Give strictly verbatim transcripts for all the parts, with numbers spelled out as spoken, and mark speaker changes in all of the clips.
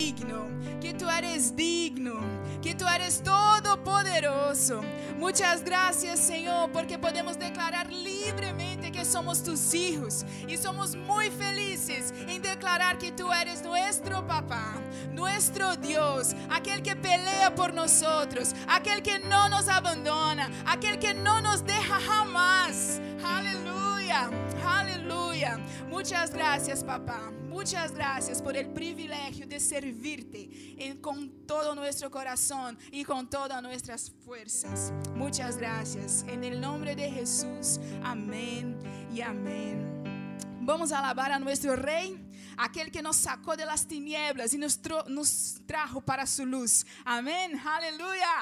Speaker 1: digno, que tú eres digno, que tú eres todopoderoso. Muchas gracias, Señor, porque podemos declarar libremente que somos tus hijos y somos muy felices en declarar que tú eres nuestro papá, nuestro Dios, aquel que pelea por nosotros, aquel que no nos abandona, aquel que no nos deja jamás. Aleluya, aleluya. Muchas gracias, papá. Muchas gracias por el privilegio de servirte en, con todo nuestro corazón y con todas nuestras fuerzas. Muchas gracias. En el nombre de Jesús. Amén y amén. Vamos a alabar a nuestro Rey, aquel que nos sacó de las tinieblas y nos, tro, nos trajo para su luz. Amén. Aleluya.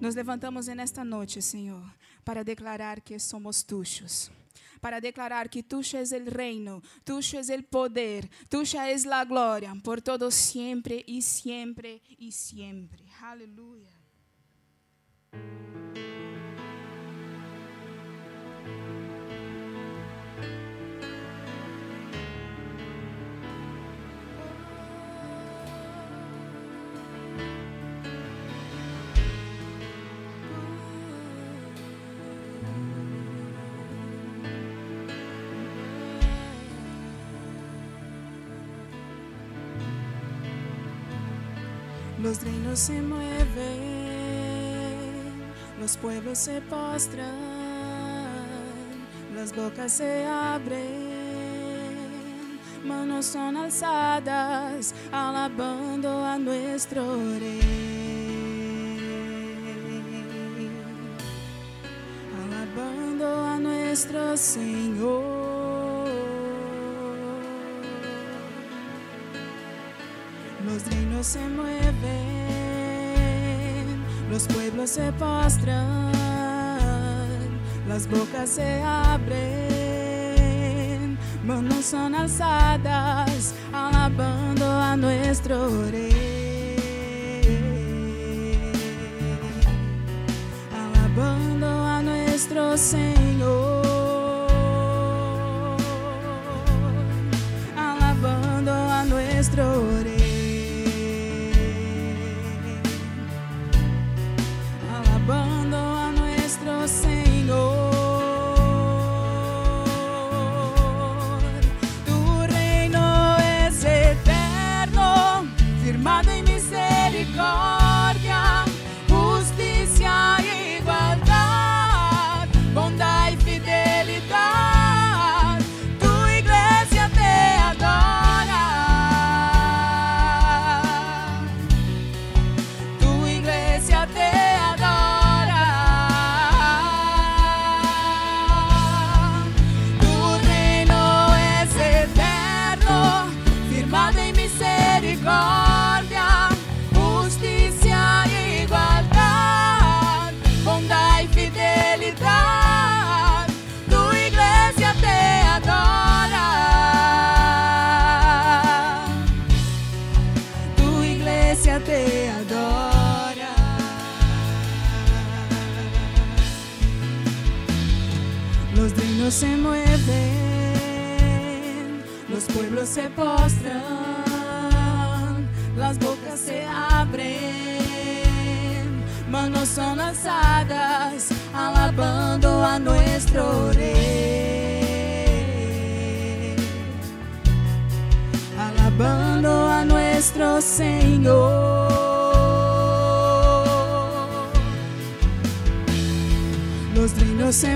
Speaker 1: Nos levantamos nesta noite, Senhor, para declarar que somos tuyos. Para declarar que tuyo es el reino, tuyo es el poder, tuya es la gloria, por todo siempre y siempre y siempre. Aleluya. Los reinos se mueven, los pueblos se postran, las bocas se abren, manos son alzadas, alabando a nuestro Rey, alabando a nuestro Señor. Los reinos se mueven, los pueblos se postran, las bocas se abren, manos son alzadas, alabando a nuestro Rey, alabando a nuestro Señor, alabando a nuestro Rey. Alabando a nuestro Señor, tu reino es eterno, firmado en misericordia, justicia e igualdad, bondad y fidelidad, tu iglesia te adora, tu iglesia te adora. Misericordia, justicia e igualdad, bondad y fidelidad, tu iglesia te adora, tu iglesia te adora. Los reinos se mueven, los pueblos se postran, las bocas se abren, manos son alzadas, alabando a nuestro Rey, alabando a nuestro Señor. Los reinos se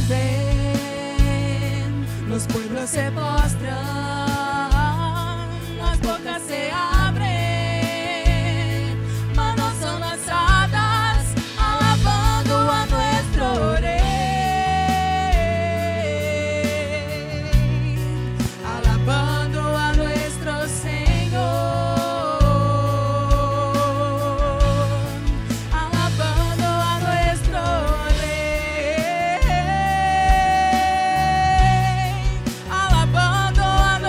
Speaker 1: mueven, los pueblos se postran, las bocas se abren, alabando a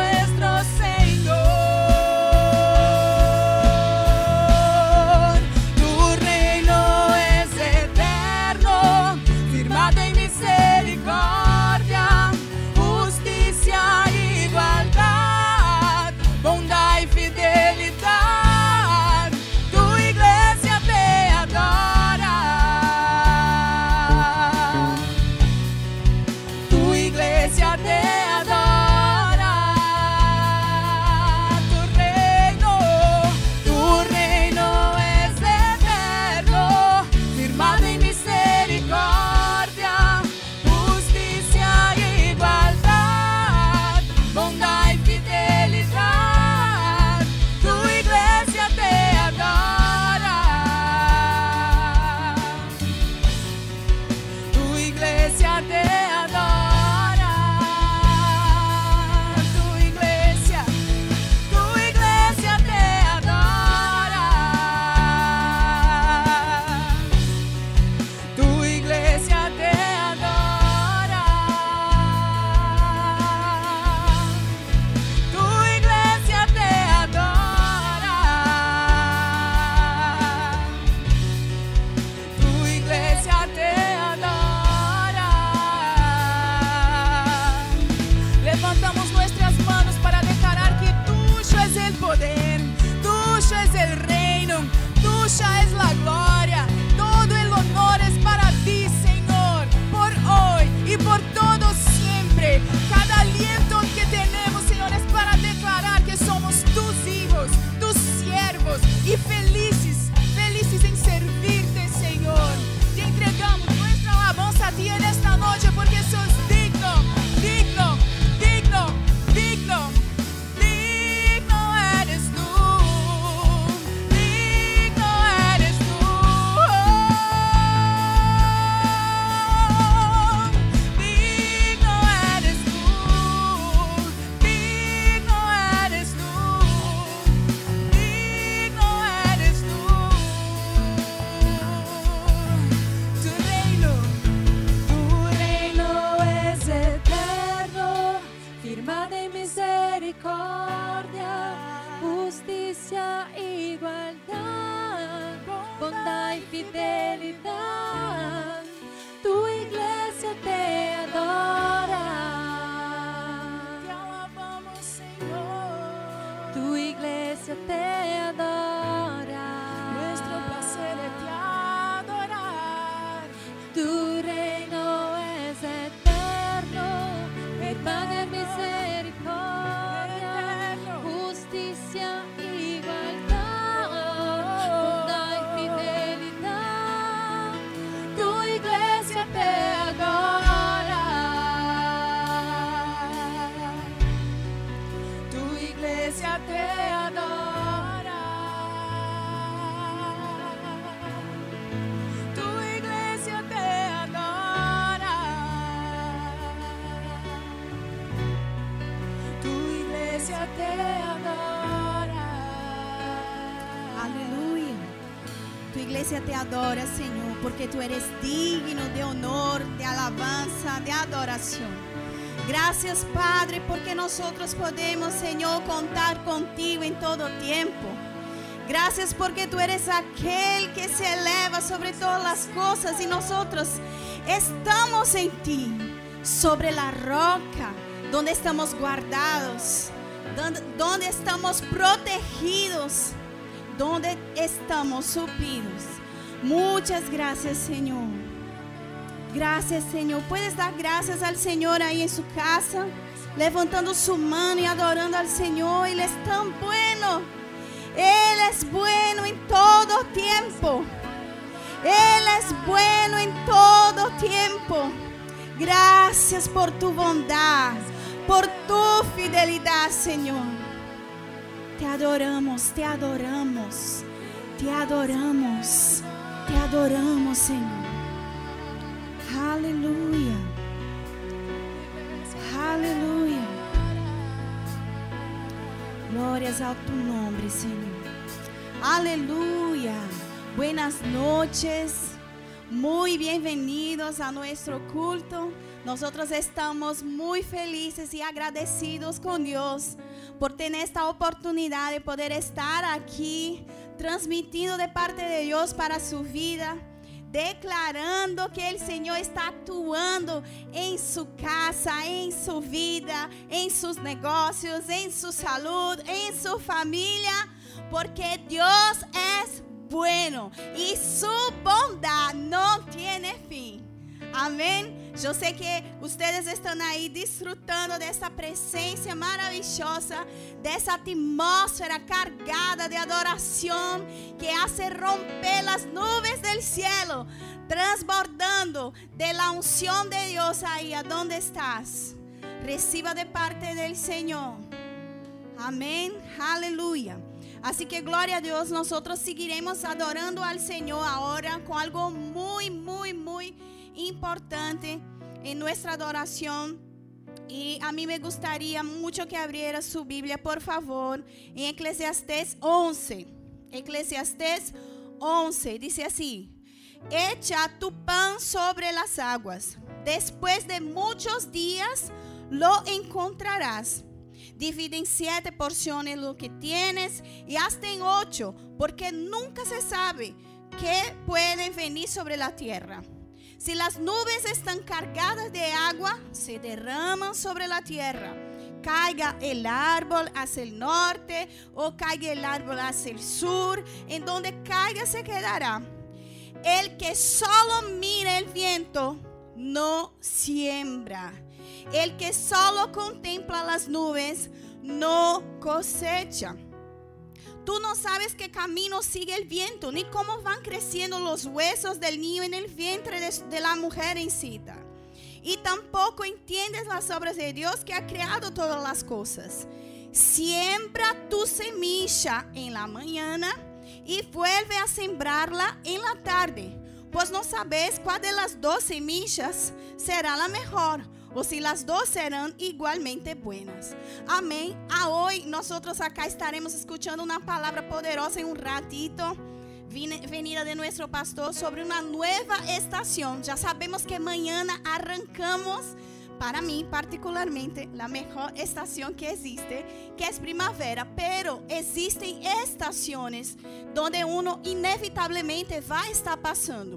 Speaker 2: misericordia, justicia, igualdad, bondad y fidelidad. Tu iglesia te adora.
Speaker 1: Te alabamos, Señor.
Speaker 2: Tu iglesia te adora.
Speaker 1: Nuestro placer es te adorar.
Speaker 2: Tu reino es eterno, hermana, misericordia, justicia, igualdad, bondad y fidelidad. Tu iglesia te adora.
Speaker 1: Tu iglesia te adora. Tu iglesia te adora. Tu iglesia te adora.
Speaker 3: Aleluya. Tu iglesia te adora, Señor, porque tú eres digno de honor, de alabanza, de adoración. Gracias, Padre, porque nosotros podemos, Señor, contar contigo en todo tiempo. Gracias porque tú eres aquel que se eleva sobre todas las cosas y nosotros estamos en ti, sobre la roca, donde estamos guardados, donde, donde estamos protegidos, donde estamos suplidos. Muchas gracias, Señor. Gracias, Señor. Puedes dar gracias al Señor ahí en su casa, levantando su mano y adorando al Señor. Él es tan bueno. Él es bueno en todo tiempo. Él es bueno en todo tiempo. Gracias por tu bondad, por tu fidelidad, Señor. Te adoramos, te adoramos, te adoramos, te adoramos, Señor. Aleluya. Aleluya. Glorias a tu nombre, Señor. Aleluya. Buenas noches. Muy bienvenidos a nuestro culto. Nosotros estamos muy felices y agradecidos con Dios por tener esta oportunidad de poder estar aquí transmitiendo de parte de Dios para su vida, declarando que el Señor está actuando en su casa, en su vida, en sus negocios, en su salud, en su familia, porque Dios es bueno y su bondad no tiene fin. Amén. Yo sé que ustedes están ahí disfrutando de esta presencia maravillosa, de esa atmósfera cargada de adoración que hace romper las nubes del cielo, transbordando de la unción de Dios ahí a donde estás. Reciba de parte del Señor. Amén. Aleluya. Así que gloria a Dios, nosotros seguiremos adorando al Señor ahora con algo muy, muy, muy importante en nuestra adoración. Y a mí me gustaría mucho que abriera su Biblia, por favor, en Eclesiastés once. Eclesiastés once dice así: echa tu pan sobre las aguas, después de muchos días lo encontrarás. Divide en siete porciones lo que tienes y hazte en ocho, porque nunca se sabe qué puede venir sobre la tierra. Si las nubes están cargadas de agua, se derraman sobre la tierra. Caiga el árbol hacia el norte o caiga el árbol hacia el sur, en donde caiga se quedará. El que solo mira el viento no siembra. El que solo contempla las nubes no cosecha. Tú no sabes qué camino sigue el viento, ni cómo van creciendo los huesos del niño en el vientre de, de la mujer incita. Y tampoco entiendes las obras de Dios que ha creado todas las cosas. Siembra tu semilla en la mañana y vuelve a sembrarla en la tarde, pues no sabes cuál de las dos semillas será la mejor, o si las dos serán igualmente buenas. Amén. A hoy nosotros acá estaremos escuchando una palabra poderosa en un ratito, venida de nuestro pastor, sobre una nueva estación. Ya sabemos que mañana arrancamos para mí particularmente, la mejor estación que existe, que es primavera. Pero existen estaciones donde uno inevitablemente va a estar pasando.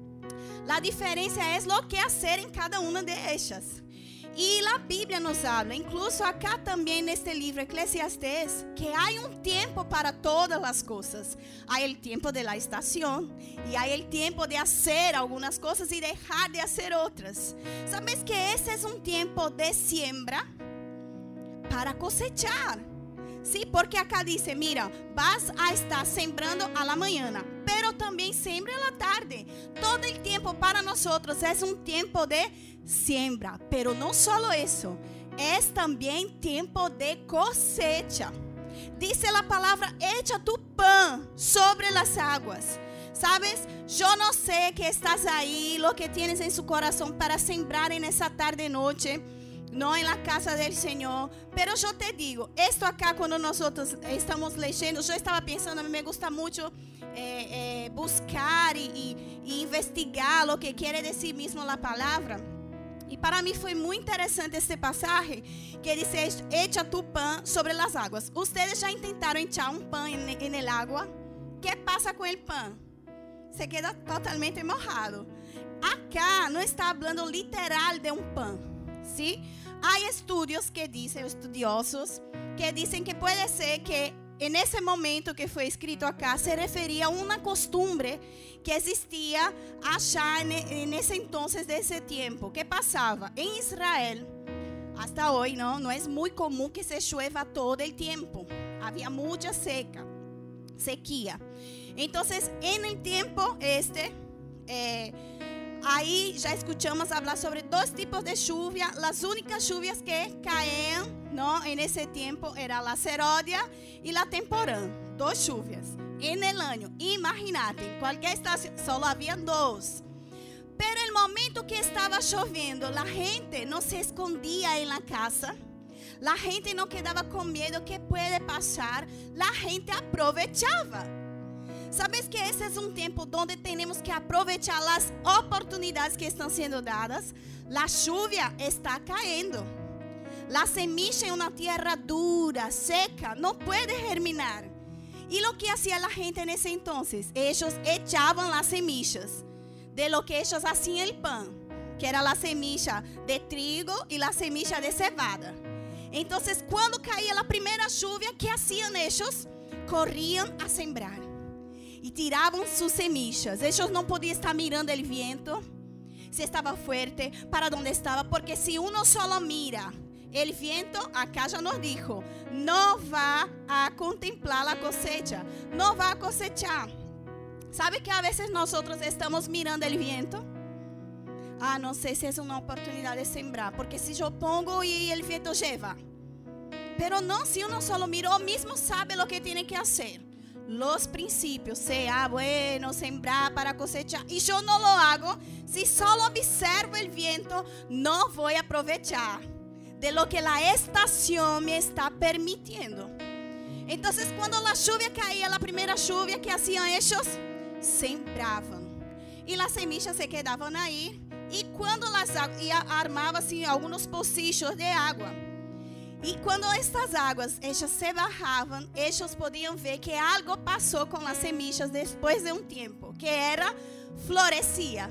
Speaker 3: La diferencia es lo que hacer en cada una de ellas. Y la Biblia nos habla, incluso acá también en este libro Eclesiastés, que hay un tiempo para todas las cosas. Hay el tiempo de la estación y hay el tiempo de hacer algunas cosas y dejar de hacer otras. ¿Sabes que ese es un tiempo de siembra para cosechar? Sí, porque acá dice, mira, vas a estar sembrando a la mañana, pero también siembra a la tarde. Todo el tiempo para nosotros es un tiempo de siembra, pero no solo eso, es también tiempo de cosecha. Dice la palabra, echa tu pan sobre las aguas. ¿Sabes? Yo no sé qué estás ahí, lo que tienes en su corazón para sembrar en esa tarde noche, no en la casa del Señor. Pero yo te digo, esto acá cuando nosotros estamos leyendo, yo estaba pensando, a mí me gusta mucho eh, eh, buscar y, y, y investigar lo que quiere decir mismo la palabra. Y para mí fue muy interesante este pasaje que dice, echa tu pan sobre las aguas. ¿Ustedes ya intentaron echar un pan en, en el agua? ¿Qué pasa con el pan? Se queda totalmente mojado. Acá no está hablando literal de un pan, ¿sí? Hay estudios que dicen, estudiosos, que dicen que puede ser que en ese momento que fue escrito acá se refería a una costumbre que existía allá en, en ese entonces de ese tiempo. ¿Qué pasaba? En Israel, hasta hoy, ¿no? No es muy común que se llueva todo el tiempo. Había mucha seca, sequía. Entonces, en el tiempo este, eh, ahí ya escuchamos hablar sobre dos tipos de lluvia. Las únicas lluvias que caían, ¿no? En ese tiempo era la seródia y la temporán. Dos lluvias en el año. Imagínate, en cualquier estación solo había dos. Pero el momento que estaba lloviendo, la gente no se escondía en la casa. La gente no quedaba con miedo que puede pasar. La gente aprovechaba. ¿Sabes que ese es un tiempo donde tenemos que aprovechar las oportunidades que están siendo dadas? La lluvia está cayendo. La semilla en una tierra dura, seca, no puede germinar. Y lo que hacía la gente en ese entonces, ellos echaban las semillas de lo que ellos hacían el pan, que era la semilla de trigo y la semilla de cebada. Entonces, cuando caía la primera lluvia, ¿qué hacían ellos? Corrían a sembrar y tiraban sus semillas. Ellos no podían estar mirando el viento, si estaba fuerte, para dónde estaba, porque si uno solo mira el viento, acá ya nos dijo, no va a contemplar la cosecha, no va a cosechar. ¿Sabe que a veces nosotros estamos mirando el viento? Ah, no sé si es una oportunidad de sembrar, porque si yo pongo y el viento lleva. Pero no, si uno solo mira, uno mismo sabe lo que tiene que hacer. Los principios, sea bueno, sembrar para cosechar. Y yo no lo hago, si solo observo el viento, no voy a aprovechar de lo que la estación me está permitiendo. Entonces, cuando la lluvia caía, la primera lluvia, ¿qué hacían ellos? Sembraban. Y las semillas se quedaban ahí. Y cuando las armaban assim, algunos pocillos de agua. Y cuando estas aguas, ellas se bajaban, ellos podían ver que algo pasó con las semillas después de un tiempo, que era, florecía.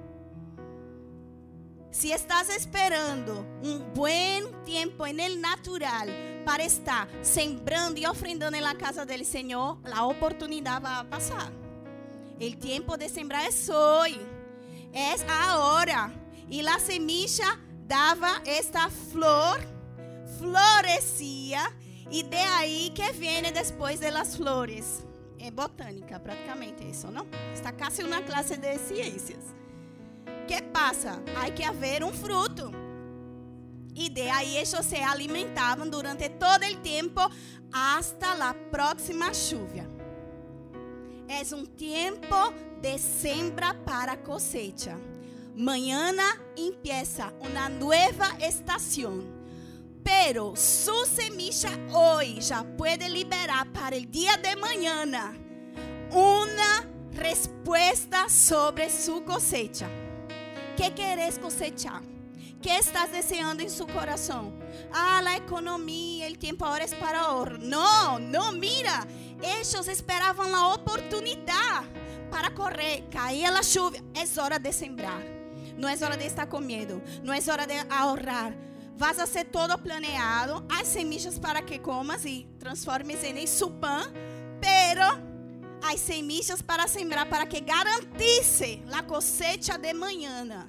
Speaker 3: Si estás esperando un buen tiempo en el natural para estar sembrando y ofrendando en la casa del Señor, la oportunidad va a pasar. El tiempo de sembrar es hoy, es ahora. Y la semilla daba esta flor, florecía, y de ahí que viene después de las flores. Es botánica prácticamente eso, ¿no? Está casi una clase de ciencias. ¿Qué pasa? Hay que haber un fruto. Y de ahí ellos se alimentaban durante todo el tiempo hasta la próxima lluvia. Es un tiempo de siembra para cosecha. Mañana empieza una nueva estación. Pero su semilla hoy ya puede liberar para el día de mañana una respuesta sobre su cosecha. ¿Qué querés cosechar? ¿Qué estás deseando en su corazón? Ah, la economía, el tiempo ahora es para ahorrar. No, no, mira. Ellos esperaban la oportunidad para correr. Caía la lluvia. Es hora de sembrar. No es hora de estar con miedo. No es hora de ahorrar. Vas a hacer todo planeado. Hay semillas para que comas y transformes en su pan. Pero hay semillas para sembrar para que garantice la cosecha de mañana.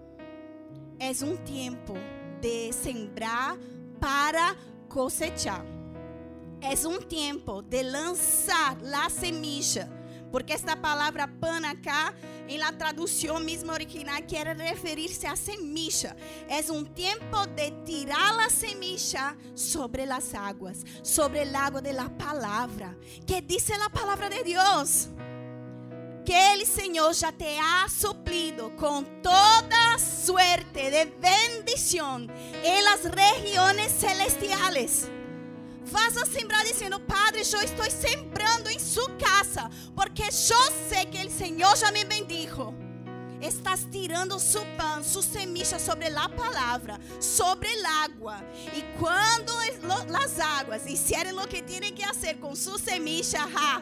Speaker 3: Es un tiempo de sembrar para cosechar. Es un tiempo de lanzar la semilla. Porque esta palavra pan acá, en la traducción misma original, quiere referirse a semilla. Es un tiempo de tirar la semilla sobre las aguas, sobre el agua de la palabra. ¿Qué dice la palabra de Dios? Que el Señor ya te ha suplido con toda suerte de bendición en las regiones celestiales. Vas a sembrar diciendo: Padre, yo estoy sembrando en su casa, porque yo sé que el Señor ya me bendijo. Estás tirando su pan, su semilla sobre la palabra, sobre el agua. Y cuando las aguas hicieran lo que tienen que hacer con su semilla, ja,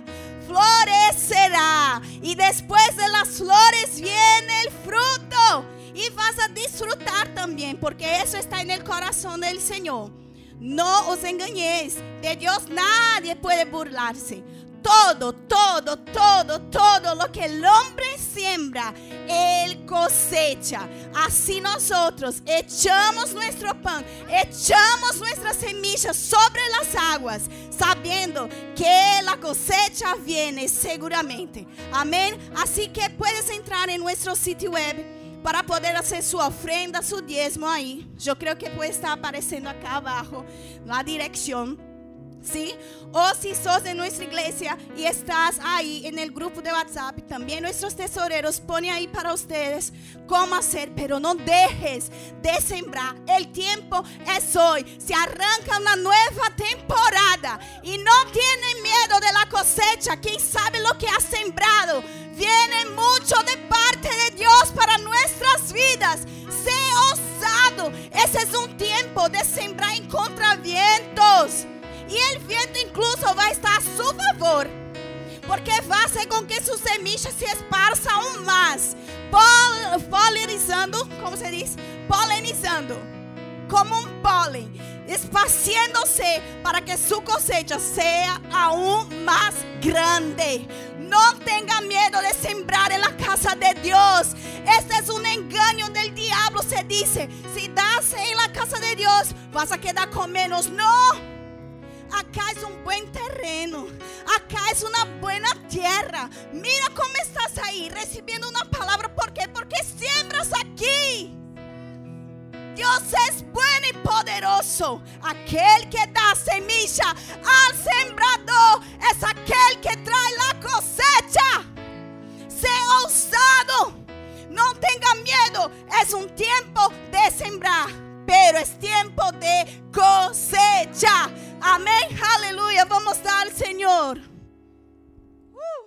Speaker 3: florecerá. Y después de las flores viene el fruto. Y vas a disfrutar también, porque eso está en el corazón del Señor. No os engañéis, de Dios nadie puede burlarse. Todo, todo, todo, todo lo que el hombre siembra, él cosecha. Así nosotros echamos nuestro pan, echamos nuestras semillas sobre las aguas, sabiendo que la cosecha viene seguramente. Amén. Así que puedes entrar en nuestro sitio web para poder hacer su ofrenda, su diezmo ahí. Yo creo que puede estar apareciendo acá abajo la dirección. ¿Sí? O si sos de nuestra iglesia y estás ahí en el grupo de WhatsApp, también nuestros tesoreros ponen ahí para ustedes cómo hacer. Pero no dejes de sembrar. El tiempo es hoy. Se arranca una nueva temporada y no tienen miedo de la cosecha. ¿Quién sabe lo que ha sembrado? Viene mucho de parte de Dios para nuestras vidas. Sé osado. Ese es un tiempo de sembrar en contravientos. Y el viento incluso va a estar a su favor, porque va a hacer con que su semilla se esparza aún más, Pol, polinizando, ¿cómo se dice? Polinizando, como un polen, esparciéndose para que su cosecha sea aún más grande. No tenga miedo de sembrar en la casa de Dios. Este es un engaño del diablo. Se dice, si das en la casa de Dios, vas a quedar con menos. No. Acá es un buen terreno. Acá es una buena tierra. Mira cómo estás ahí recibiendo una palabra. ¿Por qué? Porque siembras aquí. Dios es bueno y poderoso. Aquel que da semilla al sembrador es aquel que trae la cosecha. Sé osado. No tenga miedo. Es un tiempo de sembrar, pero es tiempo de cosecha. Amén, aleluya. Vamos a dar al Señor. Uh.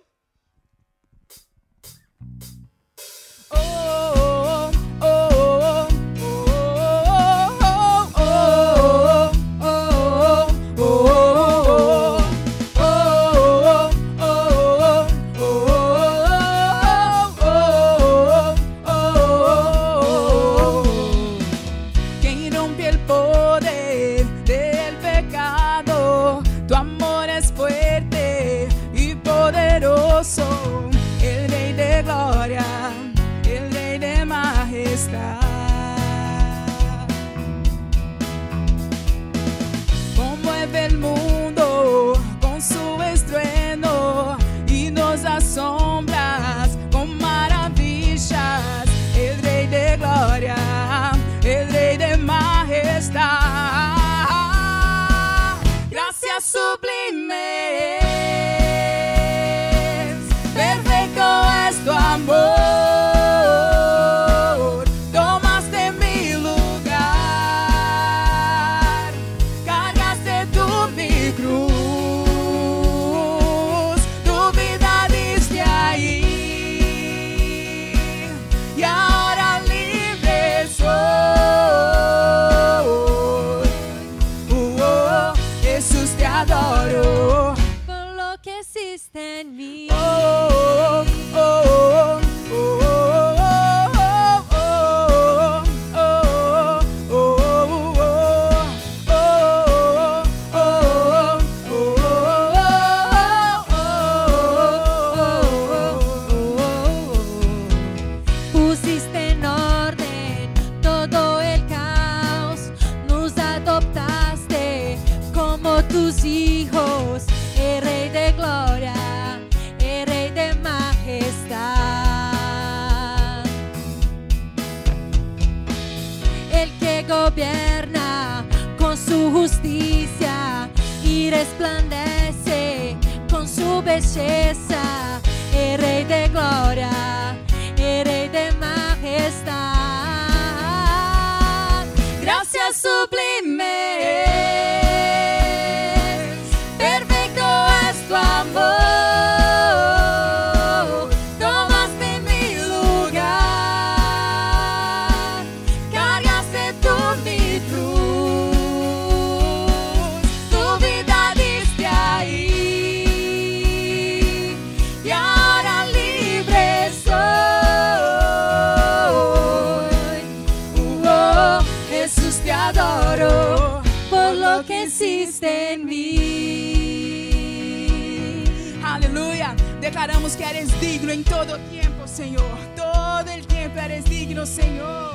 Speaker 1: Oh, oh, oh, oh, oh, oh, oh, oh, oh, oh, oh. Quien rompe el poder del pecado, tu amor es fuerte y poderoso, el Rey de gloria, el Rey de majestad. Conmueve el mundo con su estruendo y nos asombras con maravillas, el Rey de gloria, el Rey de majestad. Gracias sublimes, perfecto es tu amor. Tomaste mi lugar, cargaste tú mi cruz, tu vida diste ahí, y ahora libre soy.
Speaker 2: existe en mí.
Speaker 1: Oh, oh, oh, oh, oh,
Speaker 2: Pusiste en orden todo el caos, nos adoptaste como tus hijos, el Rey de gloria, el Rey de majestad, el que gobierna con su justicia y resplandece con su belleza, el Rey de gloria, el Rey de majestad. Gracias sublimes, perfecto es tu amor, tomaste mi lugar, cargaste tú mi cruz, tu vida diste ahí, y ahora libre soy. Oh, Jesús, te adoro por lo que hiciste en mí.
Speaker 1: Aleluya. Declaramos que eres digno en todo tiempo, Señor. Todo el tiempo eres digno, Señor.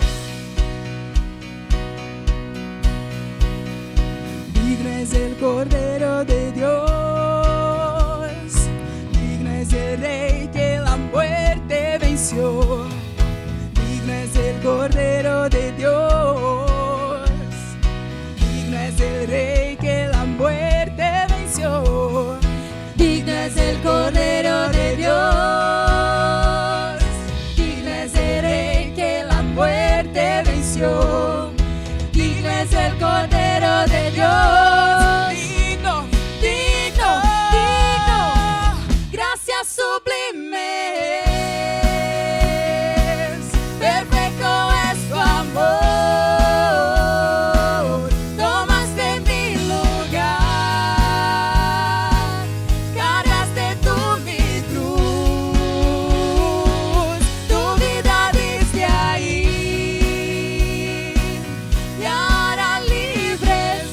Speaker 1: Digno es el Cordero de Dios. Digno es el Rey que la muerte venció. Digno es el Cordero de Dios. Digno es el Rey que la muerte venció.
Speaker 2: Digno es el Cordero de Dios, digno es el Rey que la muerte venció, digno es el Cordero de Dios,
Speaker 1: Digno,
Speaker 2: digno, digno, gracias sublimes, perfecto es tu amor, tomaste mi lugar, cargaste tú mi cruz, tu vida diste ahí, y ahora libre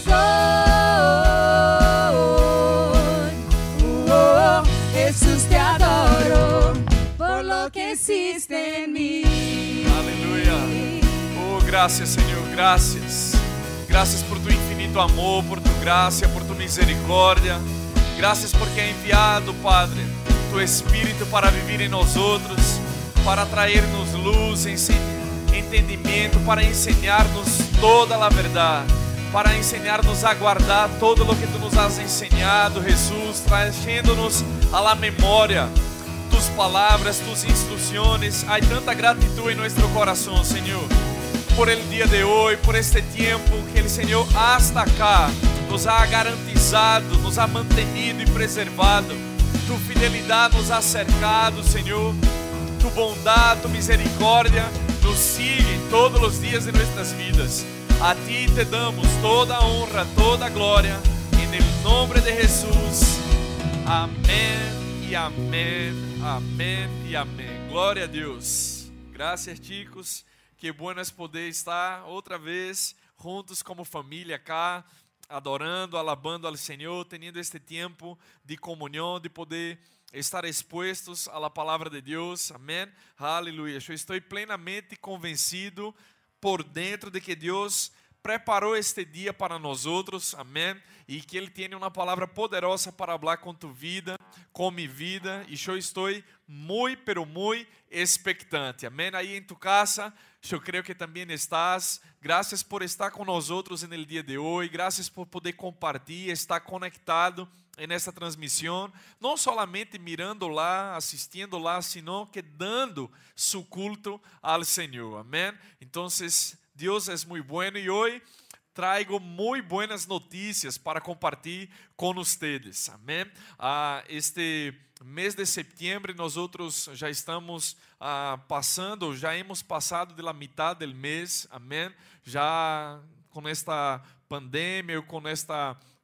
Speaker 2: soy. Oh, Jesús, te adoro por lo que hiciste en mí.
Speaker 4: Aleluya. Oh, gracias, Señor, gracias. Gracias por tu infinito amor, por tu gracia, por tu misericordia. Gracias porque ha enviado, Padre, tu Espíritu para vivir en nosotros, para traernos luz, ense- entendimiento, para enseñarnos toda la verdad, para enseñarnos a guardar todo lo que tú nos has enseñado, Jesús, trayéndonos a la memoria tus palabras, tus instrucciones. Hay tanta gratitud en nuestro corazón, Señor, por el día de hoy, por este tiempo que el Señor hasta acá nos ha garantizado, nos ha mantenido y preservado. Tu fidelidad nos ha cercado, Señor. Tu bondad, tu misericordia nos sigue todos los días de nuestras vidas. A ti te damos toda honra, toda gloria, en el nombre de Jesús. Amén y amén, amén y amén. Glória a Deus. Graças, chicos. Que bueno es poder estar outra vez juntos como família cá, adorando, alabando ao Senhor, tendo este tempo de comunhão, de poder estar expostos à la palavra de Deus. Amém. Aleluia. Eu estou plenamente convencido por dentro de que Deus preparou este dia para nós outros, amém, e que Ele tem uma palavra poderosa para falar com tu vida, com minha vida, e eu estou muito, pero muito expectante, amém. Aí em tu casa, eu creio que também estás. Graças por estar com nós outros no dia de hoje, graças por poder compartilhar, estar conectado nessa transmissão, não solamente mirando lá, assistindo lá, sino que dando su culto ao Senhor, amém. Então, Deus é muito bueno e hoje traigo muito buenas notícias para compartilhar com vocês, amém. Ah, este mês de setembro nós outros já estamos ah, passando, já hemos passado de la mitad del mês, amém. Já com esta pandemia, com esta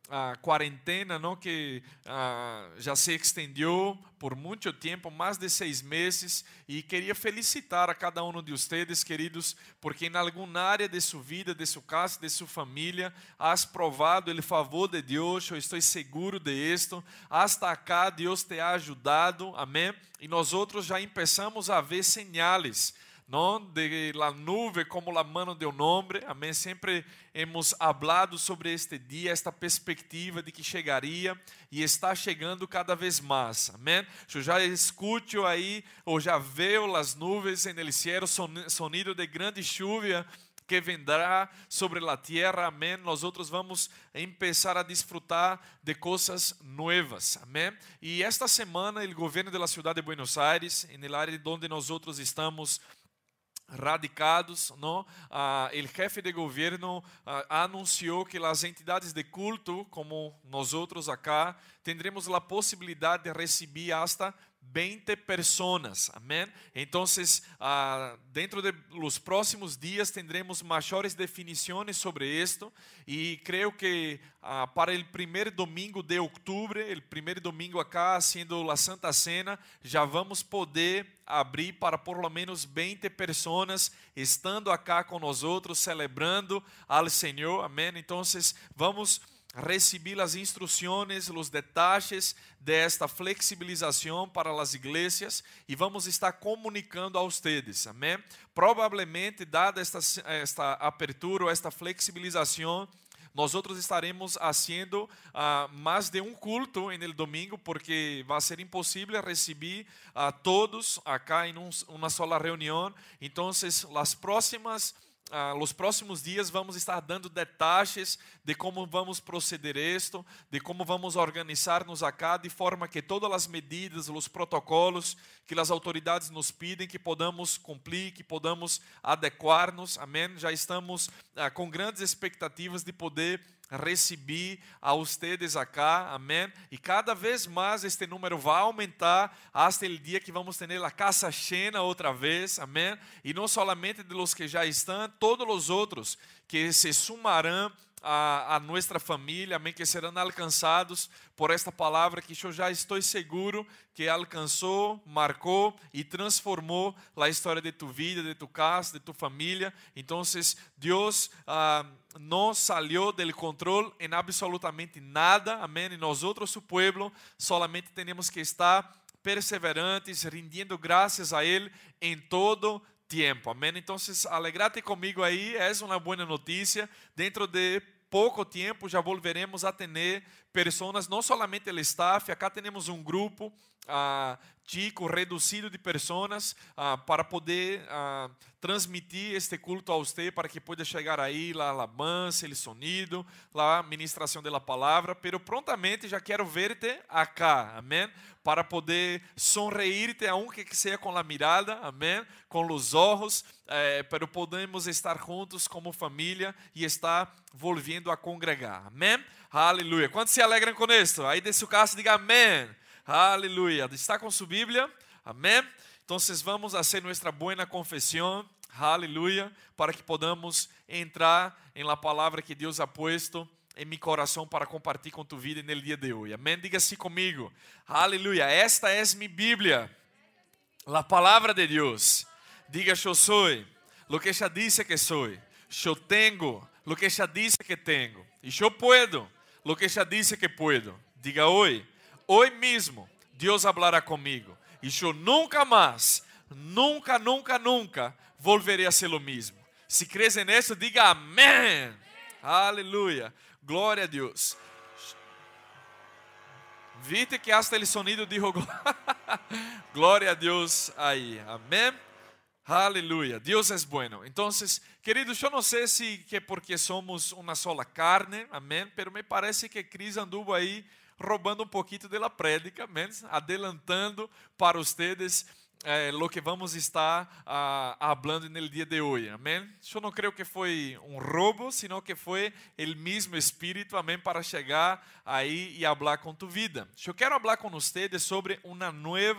Speaker 4: a quarentena, não, que uh, já se estendeu por muito tempo, mais de seis meses, e queria felicitar a cada um de vocês, queridos, porque em alguma área de sua vida, de sua casa, de sua família, has provado o favor de Deus, eu estou seguro de isto, hasta acá Deus te ha ajudado, amém? E nós outros já começamos a ver sinais, não, de la nube como la mano de um homem, amém? Sempre hemos hablado sobre este dia, esta perspectiva de que chegaria e está chegando cada vez mais, amém? Eu já escuto aí, ou já vejo as nuvens en el cielo, sonido de grande chuva que vendrá sobre la tierra, amém? Nós outros vamos começar a desfrutar de coisas novas, amém? E esta semana, o governo da cidade de Buenos Aires, em área onde nós outros estamos radicados, não? Ah, o jefe de governo ah, anunciou que as entidades de culto, como nós outros acá, tendremos a possibilidade de receber hasta veinte pessoas, amém? Então, ah, dentro de los próximos dias tendremos maiores definições sobre isto e creio que ah, para o primeiro domingo de outubro, o primeiro domingo acá, sendo a Santa Cena, já vamos poder abrir para por lo menos veinte pessoas estando acá com nós outros, celebrando ao Senhor, amém? Então, vamos receber as instruções, os detalhes desta flexibilização para as igrejas e vamos estar comunicando a vocês, amém? Provavelmente, dada esta, esta abertura, esta flexibilização, nós outros estaremos fazendo uh, mais de um culto no domingo, porque vai ser impossível receber a uh, todos acá em um, uma sola reunião. Então, as próximas Ah, nos próximos dias vamos estar dando detalhes de como vamos proceder isto, de como vamos organizar-nos acá, de forma que todas as medidas, os protocolos que as autoridades nos pedem, que podamos cumprir, que podamos adequar-nos, amém? Já estamos ah, com grandes expectativas de poder receber a vocês acá, amém? E cada vez mais este número vai aumentar até o dia que vamos ter a casa cheia outra vez, amém? E não somente de los que já estão, todos os outros que se sumarão a, a nossa família, amém? Que serão alcançados por esta palavra que eu já estou seguro que alcançou, marcou e transformou a história de tu vida, de tu casa, de tu família. Então, Deus ah, não saiu do controle em absolutamente nada, amém? E nós outros, su pueblo, solamente temos que estar perseverantes, rendindo graças a Ele em todo tempo, amém? Então, alegrate comigo aí, é uma boa notícia. Dentro de pouco tempo já volveremos a ter pessoas, não somente o staff, acá temos um grupo ah, chico, reduzido de pessoas ah, para poder ah, transmitir este culto a você, para que pueda chegar aí a alabança, o sonido, a ministração da palavra, pero prontamente já quero ver-te acá, amém? Para poder sonreír-te, aunque que seja com a mirada, amém? Com os olhos, eh, pero podemos estar juntos como família e estar volviendo a congregar, amém? Aleluia. Quantos se alegram com isso? Aí desse o caso, diga amém. Aleluia. Está com sua Bíblia? Amém? Então, vamos fazer nossa boa confissão. Aleluia. Para que podamos entrar em la palavra que Deus ha puesto em meu coração para compartilhar com tu vida no dia de hoje. Amém? Diga assim comigo. Aleluia. Esta é minha Bíblia. La palavra de Deus. Diga, eu sou lo que já disse que sou. Eu tenho lo que já disse que tenho. E eu puedo lo que já disse que puedo. Diga hoje. Hoy mismo Deus hablará comigo e eu nunca mais, nunca, nunca, nunca volverei a ser o mesmo. Se crees en eso, diga amém. Aleluia. Glória a Deus. Viste que hasta el sonido dijo glória a Deus aí. Amém. Aleluia. Deus é bueno. Então, queridos, eu não sei se que porque somos uma sola carne, amém, pero me parece que Cris anduvo aí roubando um pouquinho da prédica, amém? Adelantando para vocês eh, lo que vamos estar ah, hablando no dia de hoje, amém? Eu não creio que foi um roubo, sino que foi o mesmo Espírito, amém, para chegar aí e falar com tu vida. Eu quero falar com vocês sobre uma nova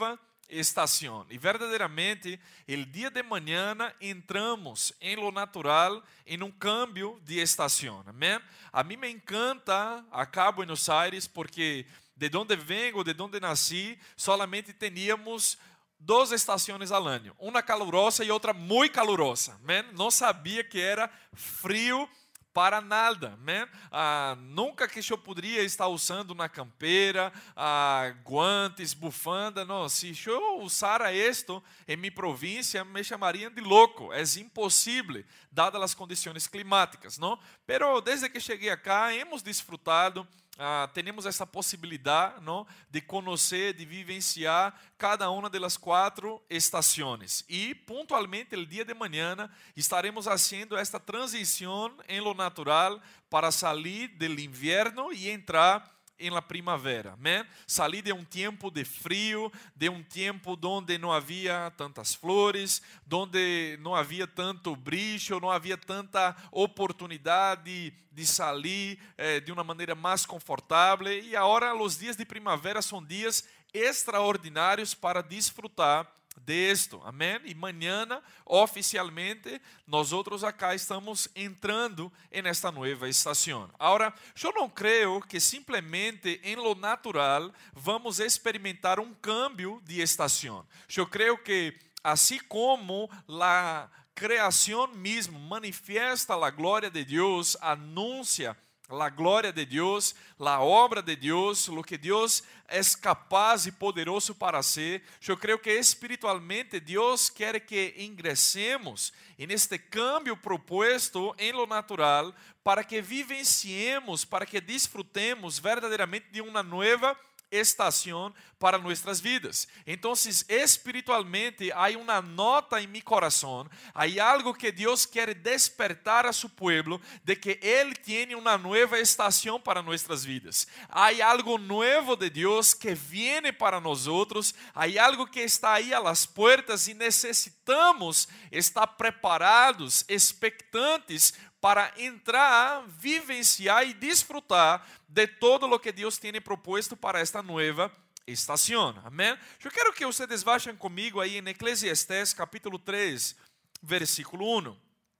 Speaker 4: estación. Y verdaderamente el día de mañana entramos en lo natural, en un cambio de estación. Amén. A mí me encanta acá Buenos Aires porque de donde vengo, de donde nací, solamente teníamos duas estações ao ano, uma calurosa e outra muito calurosa. Amém? Não sabia que era frio para nada. Amém? Ah, nunca que eu poderia estar usando uma campeira, ah, guantes, bufanda. Não, se eu usara isto em minha província, me chamariam de louco. É impossível, dadas as condições climáticas. Não? Pero desde que cheguei acá, hemos desfrutado. Ah, temos essa possibilidade, não, de conhecer, de vivenciar cada uma das quatro estações. E, pontualmente, o dia de manhã, estaremos fazendo esta transição em lo natural para sair do inverno e entrar em la primavera. Amém? Salir de um tempo de frio, de um tempo onde não havia tantas flores, onde não havia tanto brilho, não havia tanta oportunidade de salir eh, de uma maneira mais confortável. E agora os dias de primavera são dias extraordinários para desfrutar de esto. Amém? E mañana, oficialmente, nós outros acá estamos entrando en esta nueva estação. Agora, eu não creio que simplesmente em lo natural vamos experimentar um cambio de estação. Eu creio que, assim como a criação mesmo manifiesta a glória de Deus, anuncia la glória de Deus, la obra de Deus, lo que Deus é capaz e poderoso para ser. Eu creio que espiritualmente Deus quer que ingressemos neste cambio proposto em lo natural para que vivenciemos, para que disfrutemos verdadeiramente de uma nova estação para nossas vidas. Então, espiritualmente, há uma nota em meu coração, há algo que Deus quer despertar a seu povo, de que Ele tem uma nova estação para nossas vidas. Há algo novo de Deus que viene para nós outros, há algo que está aí a las puertas e necessitamos estar preparados, expectantes, para entrar, vivenciar e desfrutar de todo o que Deus tem proposto para esta nova estação. Amém? Eu quero que vocês vayam comigo aí em Eclesiastés capítulo três, versículo um.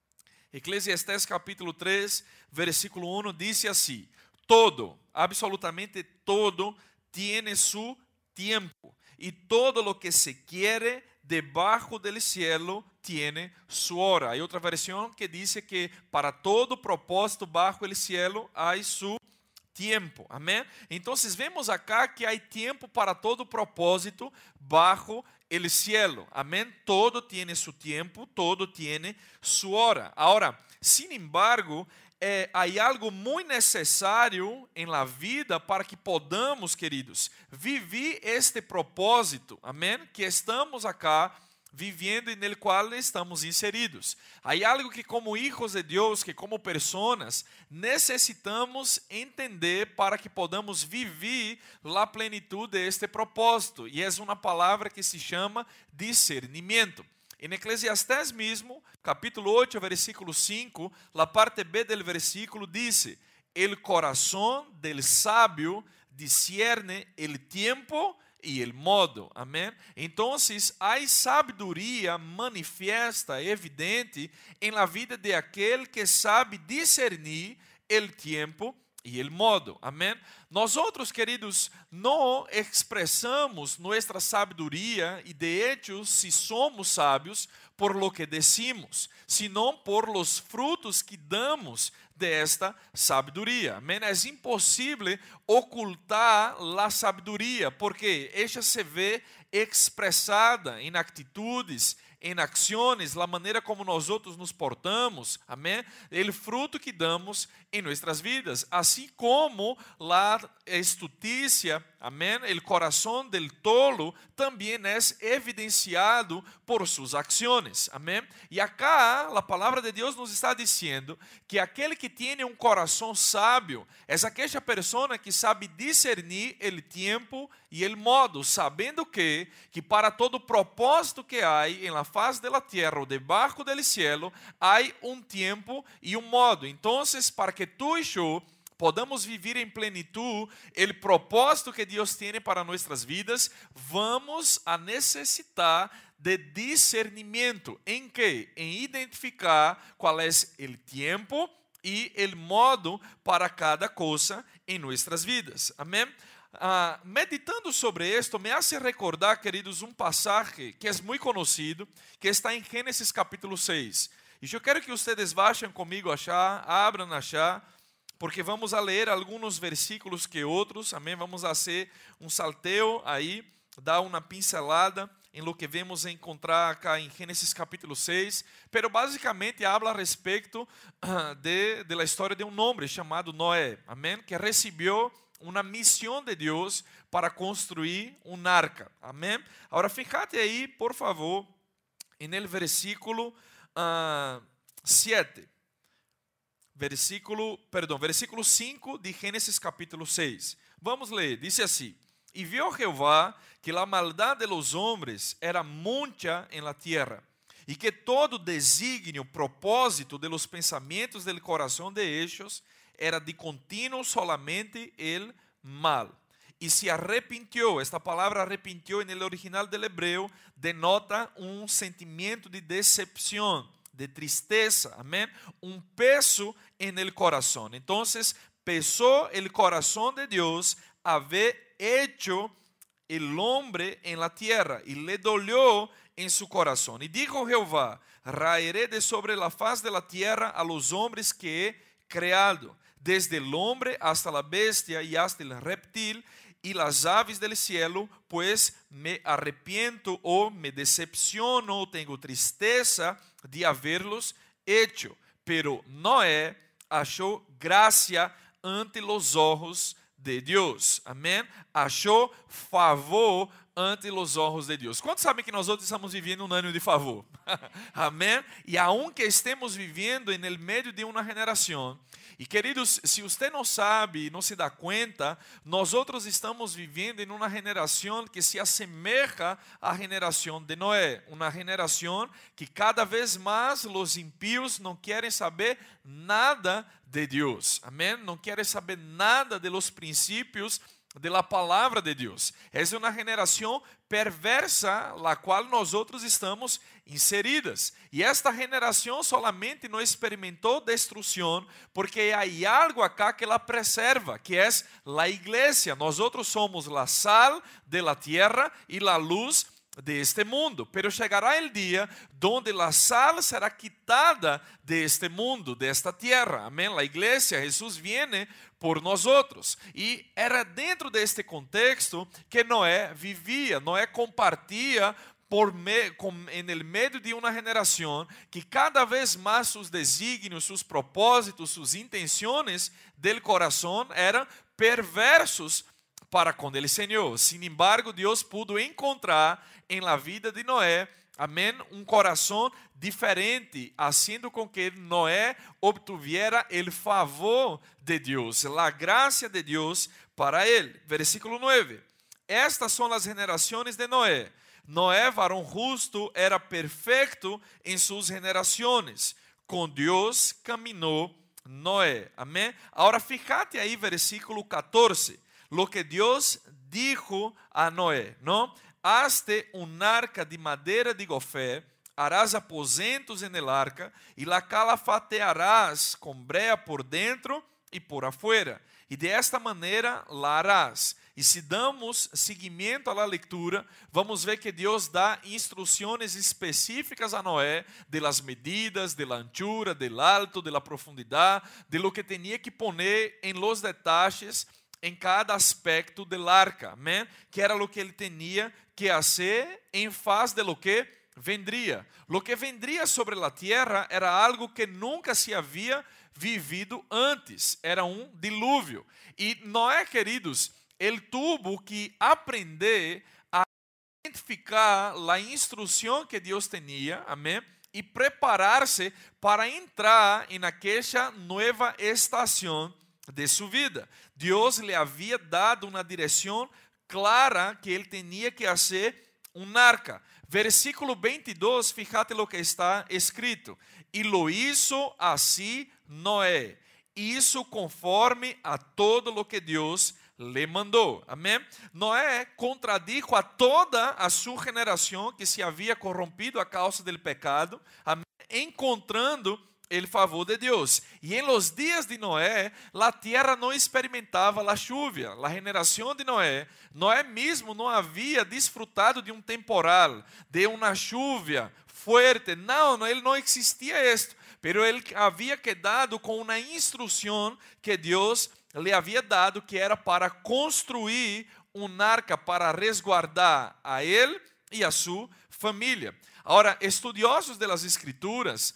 Speaker 4: Eclesiastés capítulo três, versículo um diz assim: todo, absolutamente todo, tiene su tiempo, e todo lo que se quiere debajo del cielo tiene su hora. Hay otra versión que dice que para todo propósito bajo el cielo hay su tiempo. Amém? Então, vemos acá que há tempo para todo propósito bajo el cielo. Amém? Todo tiene su tiempo, todo tiene su hora. Ahora, sin embargo, É, há algo muito necessário em la vida para que podamos, queridos, viver este propósito, amém? Que estamos acá vivendo e no qual estamos inseridos. Há algo que como hijos de Deus, que como pessoas, necessitamos entender para que podamos viver a plenitude deste propósito. E é uma palavra que se chama discernimento. Em Eclesiastés mesmo, capítulo oito, versículo cinco, la parte B del versículo dice: el corazón del sabio discierne el tiempo y el modo. Amém? Então, há sabedoria manifiesta, evidente, em la vida de aquele que sabe discernir el tiempo e el modo. Amém? Nós outros, queridos, não expressamos nossa sabedoria e de hecho, se somos sábios, por lo que decimos, sino por los frutos que damos de esta sabedoria. Amém? É impossível ocultar a sabedoria, porque ela se vê expressada em atitudes, em ações, a maneira como nós outros nos portamos, amém? O fruto que damos em nossas vidas, assim como a estutícia, amém? O coração del tolo também é evidenciado por suas ações, amém? E acá a palavra de Deus nos está dizendo que aquele que tem um coração sábio é aquela pessoa que sabe discernir o tempo e o modo, sabendo que que para todo propósito que há em la faz de la tierra ou debaixo del cielo, há um tempo e um modo. Então, para que tu e eu podamos viver em plenitude o propósito que Deus tem para nossas vidas, vamos a necessitar de discernimento. Em que? Em identificar qual é o tempo e o modo para cada coisa em nossas vidas. Amém? Uh, meditando sobre esto, me hace recordar, queridos, um passagem que é muito conhecido, que está em Gênesis capítulo seis. E eu quero que vocês baixem comigo achar, abram achar, porque vamos a ler alguns versículos que outros, amém? Vamos a fazer um salteo aí, dar uma pincelada em lo que vemos encontrar acá em Gênesis capítulo seis, pero basicamente habla a respeito uh, de, de la história de um homem chamado Noé, amém? Que recebeu uma missão de Deus para construir um arca, amém? Agora, fíjate aí, por favor, en el versículo uh, siete, versículo, perdão, versículo cinco de Gênesis capítulo seis. Vamos ler, diz assim: E viu Jeová que a maldade de los hombres era mucha en la tierra, e que todo designio, propósito de los pensamientos del corazón de ellos era de continuo solamente el mal. E se arrepintió. Esta palavra arrepintió en el original del hebreo denota um sentimento de decepção, de tristeza, amém? Um peso en el corazón. Entonces, pesó el corazón de Dios haber hecho el hombre en la tierra, y le dolió en su corazón. Y dijo Jehová: raeré de sobre la faz de la tierra a los hombres que he creado, desde el hombre hasta la bestia y hasta el reptil y las aves del cielo, pues me arrepiento o me decepciono o tengo tristeza de haberlos hecho. Pero Noé achou gracia ante los ojos de Deus. Amém? Achou favor ante os olhos de Deus. Quantos sabem que nós outros estamos vivendo um ano de favor? Amém? E aunque estemos vivendo em el meio de uma geração, e queridos, se você não sabe e não se dá conta, nós outros estamos vivendo em uma geração que se assemelha à geração de Noé, uma geração que cada vez mais os impíos não querem saber nada de Deus. Amém? Não querem saber nada de los princípios de la palavra de Deus. Essa é uma geração perversa, la qual nós outros estamos inseridas. E esta geração solamente não experimentou destruição, porque há algo acá que la preserva, que é a igreja. Nós outros somos la sal de la tierra e la luz de este mundo, pero chegará el dia donde la sal será quitada de este mundo, de esta tierra. Amém? La iglesia, Jesús viene por nosotros. E era dentro deste contexto que Noé vivia. Noé compartia por me, com, en el medio de uma geração que cada vez mais seus desígnios, seus propósitos, suas intenções del coração eram perversos para com ele Senhor. Sin embargo, Deus pudo encontrar em la vida de Noé, amém, um coração diferente, haciendo com que Noé obtuviera el favor de Deus, la gracia de Deus para ele. Versículo nueve. Estas são as gerações de Noé. Noé, varão justo, era perfeito em suas gerações. Com Deus caminhou Noé. Amém? Agora, fíjate aí, versículo catorce. Lo que Deus dijo a Noé, não? Hazte un arca de madeira de gofé, harás aposentos en el arca, y la calafatearás con brea por dentro y por afuera, y de esta manera la harás. E se damos seguimento à la leitura, vamos ver que Deus dá instruções específicas a Noé de las medidas, de la anchura, del alto, de la profundidade, de lo que tenía que poner en los detalles em cada aspecto del arca, amém? Que era lo que ele tinha que fazer em faz de lo que vendria. Lo que vendria sobre la tierra era algo que nunca se havia vivido antes, era um dilúvio. E Noé, queridos, ele tuvo que aprender a identificar a instrução que Deus tinha, amém? E preparar-se para entrar em aquela nova estação de sua vida. Deus lhe havia dado uma direção clara que ele tinha que fazer um arca. Versículo veintidós, fíjate lo que está escrito. E lo hizo así Noé. hizo conforme a todo lo que Dios le mandó. Amém? Noé contradijo a toda a sua geração que se havia corrompido a causa del pecado, amém? Encontrando el favor de Deus. E em los dias de Noé, a terra não experimentava a chuva. A geração de Noé, Noé mesmo não havia desfrutado de um temporal, de uma chuva fuerte. Não, não, ele não existia isto. Pero ele havia quedado com uma instrução que Deus lhe havia dado, que era para construir um arca para resguardar a ele e a sua família. Agora, estudiosos das Escrituras,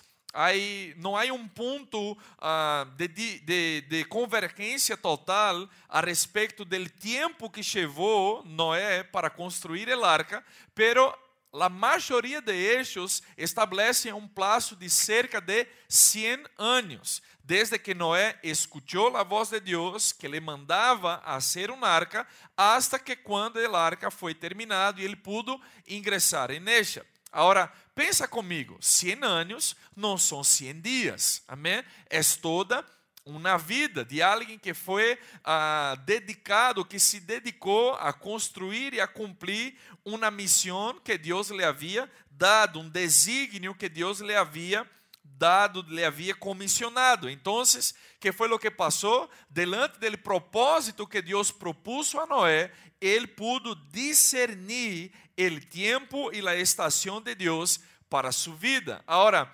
Speaker 4: aí não há um ponto uh, de, de, de convergência total a respeito do tempo que levou Noé para construir a arca, pero a maioria de ellos establecem um prazo de cerca de cem anos, desde que Noé escuchou a voz de Deus que lhe mandava fazer uma arca, hasta que quando a arca foi terminada e ele pudo ingressar em ella. Agora, pensa comigo, cem anos não são cem dias, amém? É toda uma vida de alguém que foi uh, dedicado, que se dedicou a construir e a cumprir uma missão que Deus lhe havia dado, um desígnio que Deus lhe havia dado, lhe havia comissionado. Então, que foi o que passou? Delante do propósito que Deus propôs a Noé, ele pudo discernir o tempo e a estação de Deus para sua vida. Agora,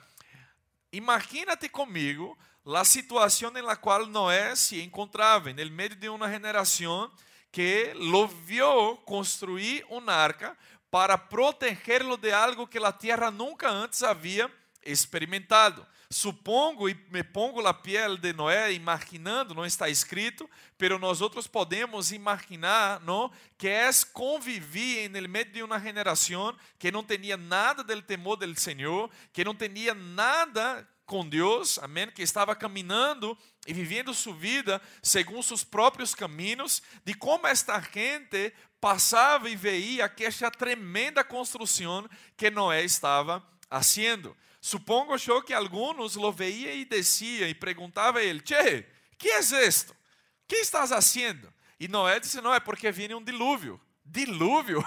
Speaker 4: imagínate comigo a situação na qual Noé se encontrava, no meio de uma geração que lo viu construir uma arca para protegê-lo de algo que a terra nunca antes havia experimentado. Supongo e me pongo na pele de Noé, imaginando, não está escrito, pero nós outros podemos imaginar, não, que é conviver no meio de uma geração que não tinha nada del temor del Senhor, que não tinha nada com Deus, amém, que estava caminhando e vivendo sua vida segundo seus próprios caminhos, de como esta gente passava e veia aquela tremenda construção que Noé estava fazendo. Supongo eu que alguns lo veia e descia e perguntava a ele: Che, que é isto? Que estás fazendo? E Noé disse: não, é porque viene um dilúvio. Dilúvio?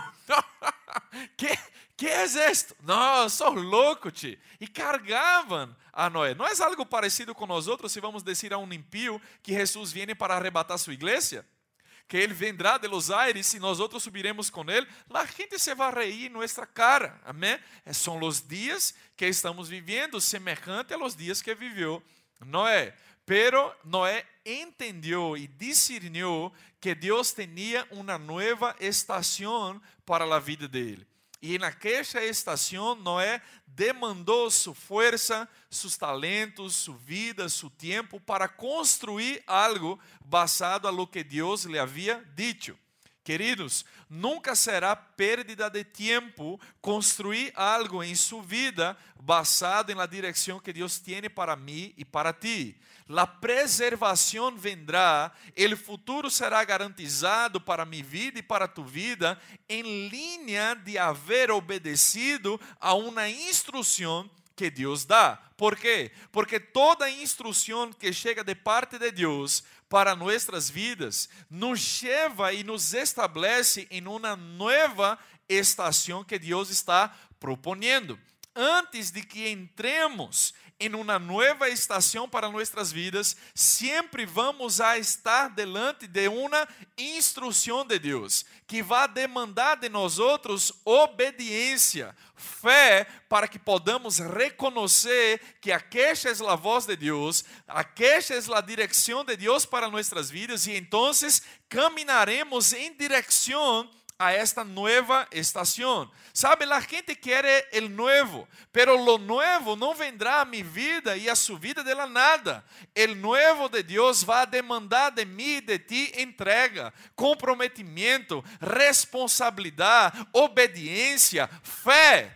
Speaker 4: que, que é isto? Não, sou louco, tio. E cargavam a Noé. Não é algo parecido com nós outros se vamos dizer a um impío que Jesus viene para arrebatar sua igreja? Que ele vendrá de los aires e nós outros subiremos com ele, a gente se vai reír em nossa cara, amém? São os dias que estamos vivendo, semejante a los dias que viveu Noé. Pero Noé entendeu e discerniu que Deus tinha uma nova estação para a vida dele. E naquela estação, Noé demandou sua força, seus talentos, sua vida, seu tempo para construir algo basado a lo que Deus lhe havia dito. Queridos, nunca será pérdida de tempo construir algo em sua vida basado na direção que Deus tem para mim e para ti. A preservação vendrá, o futuro será garantizado para minha vida e para tu vida, em linha de haver obedecido a uma instrução que Deus dá. Por quê? Porque toda instrução que chega de parte de Deus para nossas vidas nos leva e nos estabelece em uma nova estação que Deus está propondo. Antes de que entremos em uma nova estação para nossas vidas, sempre vamos a estar delante de uma instrução de Deus, que vai demandar de nós outros obediência, fé, para que podamos reconhecer que aquela é a voz de Deus, aquela é a direção de Deus para nossas vidas, e então caminharemos em direção a esta nueva estação. Sabe, a gente quer o novo, pero lo nuevo não vendrá a minha vida e a sua vida de la nada. O novo de Deus vai demandar de mim e de ti entrega, comprometimento, responsabilidade, obediência, fé.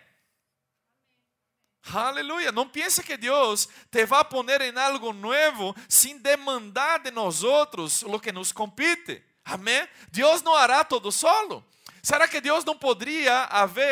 Speaker 4: Aleluia. Não pense que Deus te vai poner em algo novo sem demandar de nós outros o que nos compete. Amém? Deus não hará todo solo. Será que Deus não poderia haver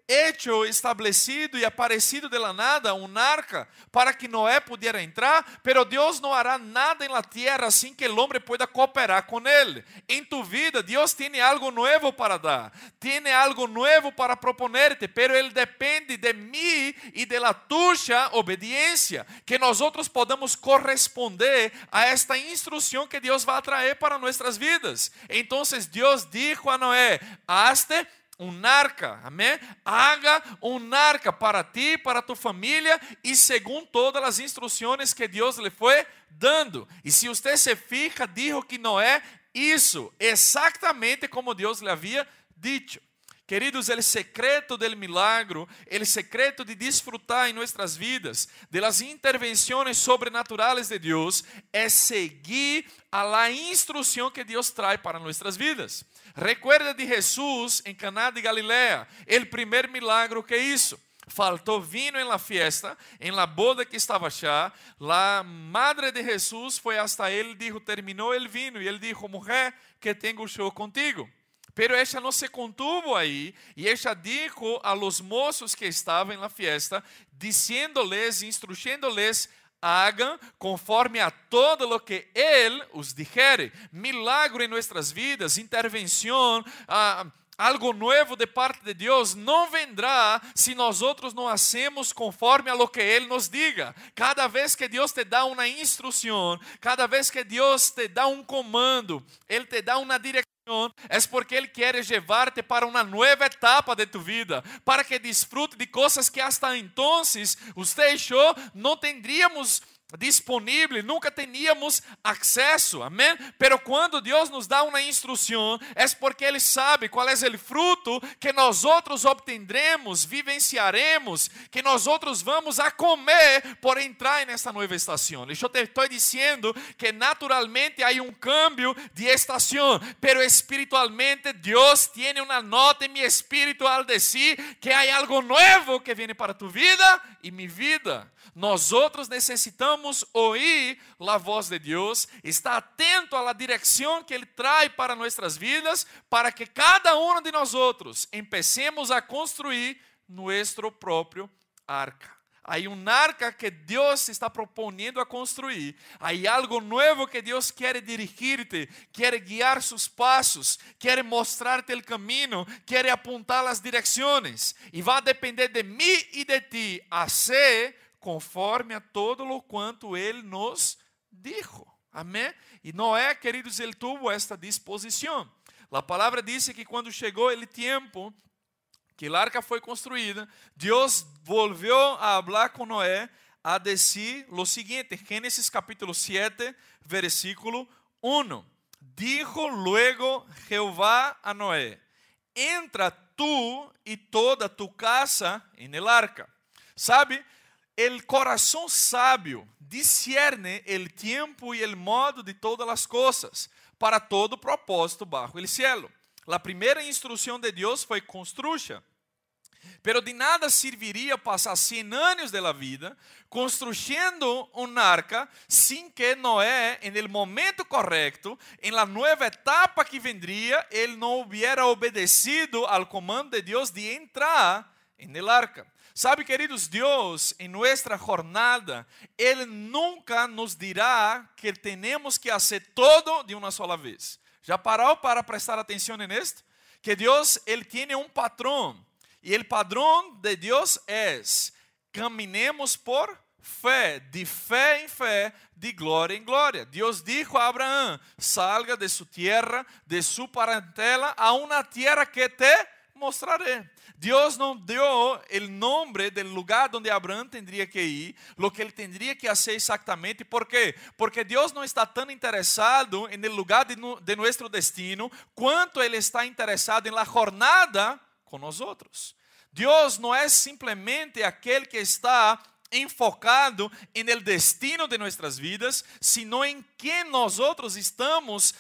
Speaker 4: hecho, estabelecido y aparecido de la nada un arca para que Noé pudiera entrar, pero Dios no hará nada en la tierra sin que el hombre pueda cooperar con él. En tu vida, Dios tiene algo nuevo para dar, tiene algo nuevo para proponerte, pero Él depende de mí y de la tuya obediencia, que nosotros podamos corresponder a esta instrucción que Dios va a traer para nuestras vidas. Entonces Dios dijo a Noé: hazte un arca, amén. Haga un arca para ti, para tu familia y según todas las instrucciones que Dios le fue dando. Y si usted se fija, dijo que Noé hizo exactamente como Dios le había dicho. Queridos, el secreto del milagro, el secreto de disfrutar en nuestras vidas de las intervenciones sobrenaturales de Dios es seguir a la instrucción que Dios trae para nuestras vidas. Recuerda de Jesús en Caná de Galilea, el primer milagro que hizo. Faltó vino en la fiesta, en la boda que estaba allá. La madre de Jesús fue hasta él y dijo: terminó el vino. Y él dijo: mujer, que tengo yo contigo. Pero ella no se contuvo ahí y ella dijo a los mozos que estaban en la fiesta, diciéndoles, instruyéndoles: hagan conforme a todo lo que Él os dijere. Milagro en nuestras vidas, intervención, uh, algo nuevo de parte de Dios no vendrá si nosotros no hacemos conforme a lo que Él nos diga. Cada vez que Dios te da una instrucción, cada vez que Dios te da un comando, Él te da una dirección, es porque Él quiere llevarte para una nueva etapa de tu vida, para que disfrute de cosas que hasta entonces usted y yo no tendríamos disponible, nunca teníamos acceso, amén. Pero cuando Dios nos da una instrucción, es porque Él sabe cuál es el fruto que nosotros obtendremos, vivenciaremos, que nosotros vamos a comer por entrar en esta nueva estación. Y yo te estoy diciendo que naturalmente hay un cambio de estación, pero espiritualmente Dios tiene una nota en mi espíritu al decir que hay algo nuevo que viene para tu vida y mi vida. Nosotros necesitamos oír la voz de Dios, estar atento a la dirección que Él trae para nuestras vidas, para que cada uno de nosotros empecemos a construir nuestro propio arca. Hay un arca que Dios está proponiendo a construir. Hay algo nuevo que Dios quiere dirigirte, quiere guiar sus pasos, quiere mostrarte el camino, quiere apuntar las direcciones. Y va a depender de mí y de ti hacer conforme a todo lo cuanto Él nos dijo. Amén. Y Noé, queridos, Él tuvo esta disposición. La palabra dice que cuando llegó el tiempo que el arca fue construida, Dios volvió a hablar con Noé, a decir lo siguiente, Génesis capítulo siete, versículo uno. Dijo luego Jehová a Noé: entra tú y toda tu casa en el arca. ¿Sabe? El corazón sabio discierne el tiempo y el modo de todas las cosas para todo propósito bajo el cielo. La primera instrucción de Dios fue construya. Pero de nada serviría pasar cien años de la vida construyendo un arca sin que Noé, en el momento correcto, en la nueva etapa que vendría, él no hubiera obedecido al comando de Dios de entrar en el arca. Sabe, queridos, Dios en nuestra jornada, Él nunca nos dirá que tenemos que hacer todo de una sola vez. ¿Ya paró para prestar atención en esto? Que Dios, Él tiene un patrón. Y el padrón de Dios es: caminemos por fe, de fe en fe, de gloria en gloria. Dios dijo a Abraham: salga de su tierra, de su parentela, a una tierra que te mostraré. Dios no dio el nombre del lugar donde Abraham tendría que ir, lo que él tendría que hacer exactamente. ¿Por qué? Porque Dios no está tan interesado en el lugar de, de nuestro destino, cuanto Él está interesado en la jornada con nosotros. Dios no es simplemente aquel que está enfocado en el destino de nuestras vidas, sino en que nosotros estamos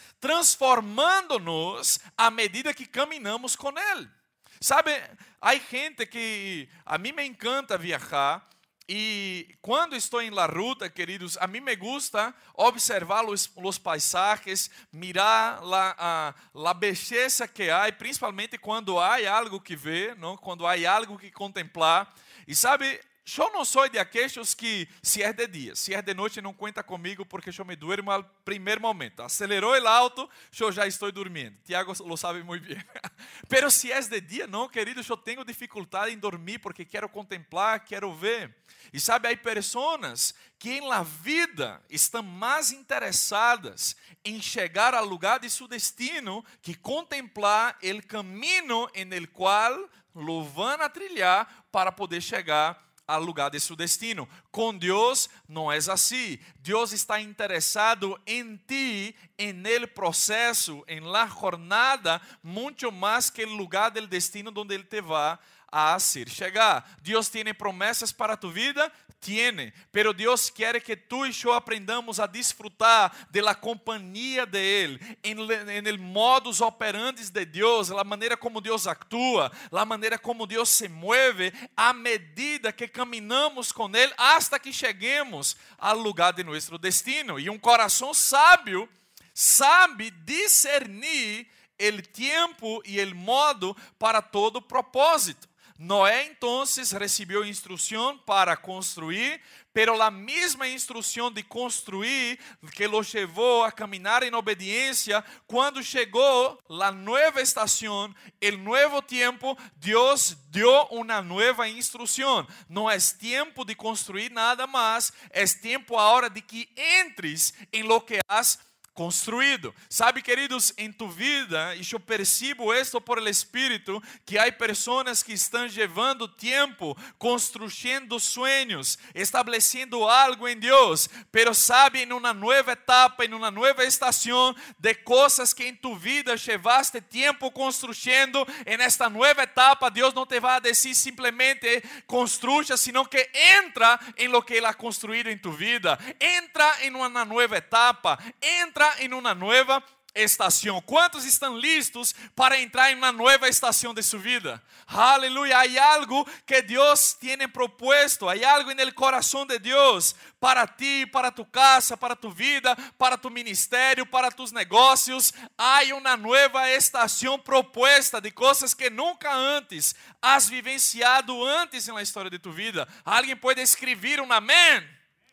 Speaker 4: transformándonos a medida que caminamos con Él. Sabe, hay gente que, a mí me encanta viajar, Y cuando estoy en la ruta, queridos, a mí me gusta observar los, los paisajes, mirar la, uh, la belleza que hay, principalmente cuando hay algo que ver, ¿no? Cuando hay algo que contemplar. Y sabe, yo no soy de aquellos que, si es de día, si es de noche, no cuenta conmigo porque yo me duermo al primer momento. Aceleró el auto, yo ya estoy durmiendo. Tiago lo sabe muy bien. Pero si es de día, no, querido, yo tengo dificultad en dormir porque quiero contemplar, quiero ver. E sabe, há pessoas que em la vida estão mais interessadas em chegar ao lugar de seu destino que contemplar o caminho em el qual lo van a trilhar para poder chegar ao lugar de seu destino. Com Deus não é assim. Deus está interessado em ti, em el processo, em la jornada, muito mais que o lugar del destino onde Ele te vai a hacer chegar. Deus tem promessas para tu vida? Tiene, pero Deus quer que tu e eu aprendamos a disfrutar de la companhia de Ele, en, en el modus operandi de Deus, a maneira como Deus actúa, a maneira como Deus se mueve, à medida que caminhamos com Ele, hasta que cheguemos ao lugar de nosso destino. E um coração sábio sabe discernir o tempo e o modo para todo propósito. Noé entonces recibió instrucción para construir, pero la misma instrucción de construir que lo llevó a caminar en obediencia, cuando llegó la nueva estación, el nuevo tiempo, Dios dio una nueva instrucción. No es tiempo de construir nada más, es tiempo ahora de que entres en lo que has construído. Sabe, queridos, em tu vida, e eu percebo esto por el Espírito, que há pessoas que estão levando tempo, construindo sueños, estabelecendo algo em Deus, pero sabe, em uma nova etapa, em uma nova estação, de coisas que em tu vida llevaste tempo construindo, em esta nova etapa, Deus não te vai dizer simplesmente construya, sino que entra em lo que Ele ha construído em tu vida, entra em uma nova etapa, entra em uma nova estação. Quantos estão listos para entrar em uma nova estação de sua vida? Aleluia. Há algo que Deus tem proposto, há algo no coração de Deus para ti, para tu casa, para tu vida, para tu ministério, para tus negócios. Há uma nova estação proposta de coisas que nunca antes has vivenciado antes na história de tu vida. Alguém pode escrever um amém?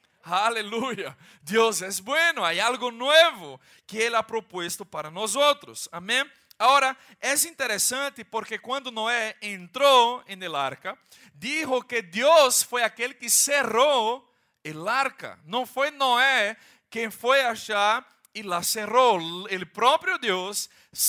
Speaker 4: Aleluia, Deus é bueno, há algo novo que Ele ha proposto para nós outros, amém? Agora, é interessante porque quando Noé entrou em el arca, dijo que Deus foi aquele que cerrou el arca, não foi Noé quem foi achar e la cerrou, o próprio Deus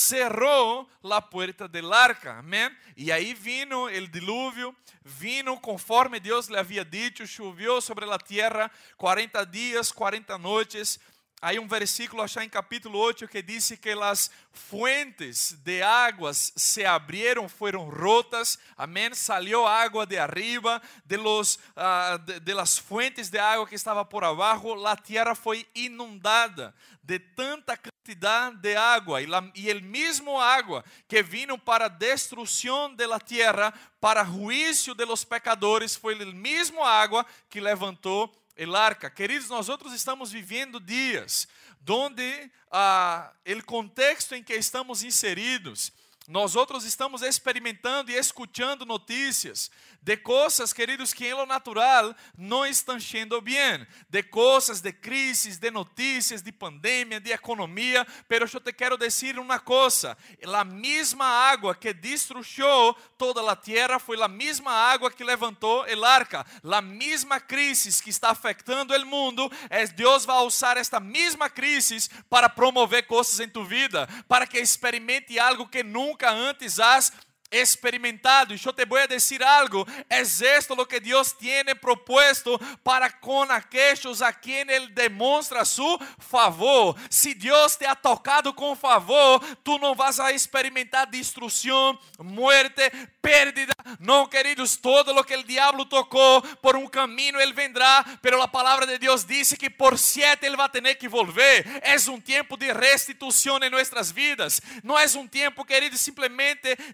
Speaker 4: cerrou a porta del arca, amém? E aí vino o dilúvio, vino conforme Deus lhe havia dito, choveu sobre a terra quarenta dias, quarenta noites. Há um versículo achar em capítulo oito que diz que as fuentes de águas se abrieron, foram rotas, amém? Salió água de arriba, de, los, uh, de, de las fuentes de água que estava por abaixo, a terra foi inundada de tanta quantidade de água, e, la, e el mismo água que vino para destruição de la terra, para juízo de los pecadores, foi el mismo água que levantou el arca. Queridos, nós outros estamos vivendo dias onde ah, o contexto em que estamos inseridos, nós outros estamos experimentando e escutando notícias de coisas, queridos, que em lo natural não estão sendo bem, de coisas, de crises, de notícias, de pandemia, de economia, pero eu te quero dizer uma coisa, a mesma água que destruiu toda a terra foi a mesma água que levantou el arca, a mesma crise que está afetando o mundo, é Deus vai usar esta mesma crise para promover coisas em tu vida, para que experimente algo que nunca antes has experimentado. E eu te vou a dizer algo, é esto lo que Deus tiene propuesto para com aqueles a quem Ele demonstra su favor. Se Deus te ha tocado com favor, tu não vas a experimentar destruição, muerte, pérdida. Não, queridos, todo lo que o diabo tocou, por um caminho ele vendrá, pero a palavra de Deus diz que por siete ele vai ter que volver. É um tempo de restituição em nossas vidas. Não é um tempo, queridos, simplesmente de que podemos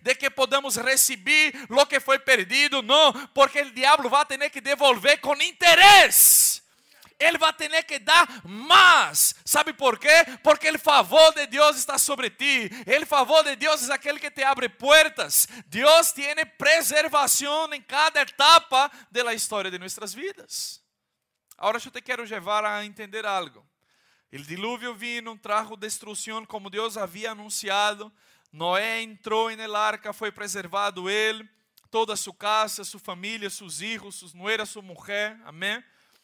Speaker 4: podamos receber o que foi perdido, não, porque o diabo vai ter que devolver com interesse. Ele vai ter que dar mais. Sabe por quê? Porque o favor de Deus está sobre ti. O favor de Deus é aquele que te abre portas. Deus tem preservação em cada etapa da história de nossas vidas. Agora eu te quero levar a entender algo. O dilúvio vino, trajo destruição como Deus havia anunciado. Noé entrou en el arca, foi preservado ele, toda sua casa, sua família, seus filhos, suas nueras, sua mulher. Amém?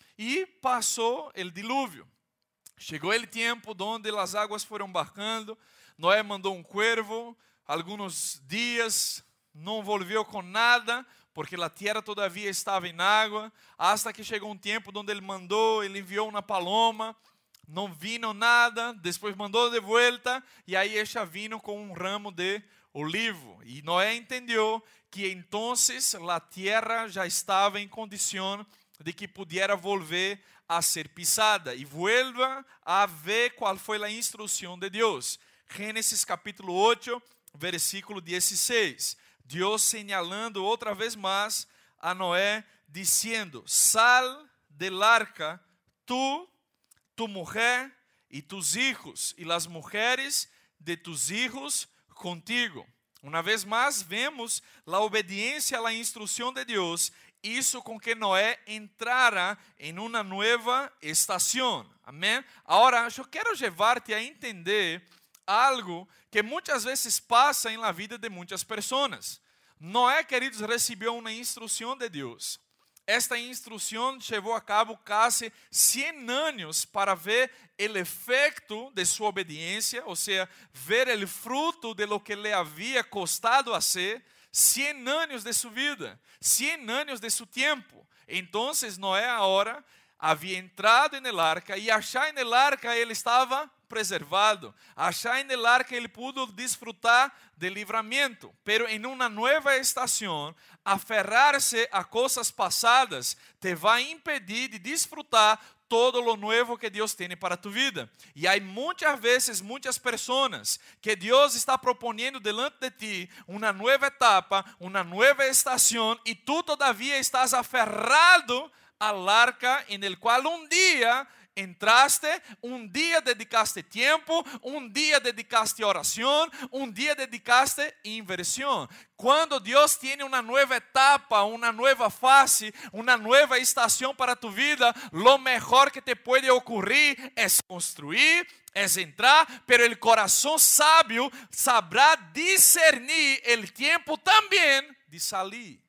Speaker 4: E passou o dilúvio. Chegou o tempo onde as águas foram bajando. Noé mandou um cuervo. Alguns dias não volviu com nada, porque a terra todavia estava em água. Hasta que chegou um tempo onde ele mandou, ele enviou uma paloma. Não vino nada. Depois mandou de volta. E aí ela vino com um ramo de olivo. E Noé entendeu que então a terra já estava em condição de que pudiera volver a ser pisada. E vuelva a ver qual foi a instrução de Deus. Gênesis capítulo oito, versículo dezesseis. Deus señalando outra vez mais a Noé, dizendo: sal del arca, tu, tu mujer e tus hijos, e las mujeres de tus hijos contigo. Uma vez mais, vemos a obediência à instrução de Deus. Isso com que Noé entrara em uma nova estação. Amém? Agora, eu quero levar-te a entender algo que muitas vezes passa em la vida de muitas pessoas. Noé, queridos, recebeu uma instrução de Deus. Esta instrução levou a cabo quase cem anos para ver o efeito de sua obediência, ou seja, ver o fruto de lo que lhe havia costado hacer. cem anos de sua vida, cem anos de seu tempo. Então, Noé agora havia entrado en el arca e achar en el arca ele estava preservado. Achar en el arca ele pudo disfrutar de livramento. Pero em uma nova estação, aferrar-se a coisas passadas te vai impedir de disfrutar todo lo nuevo que Deus tem para tu vida. E há muitas vezes, muitas pessoas que Deus está propondo delante de ti uma nova etapa, uma nova estação, e tu todavia estás aferrado al arca en el qual um dia entraste, um dia dedicaste tempo, um dia dedicaste oração, um dia dedicaste inversión. Quando Deus tem uma nova etapa, uma nova fase, uma nova estação para tu vida, lo mejor que te puede ocurrir é construir, é entrar, pero el corazón sábio sabrá discernir el tiempo também de salir.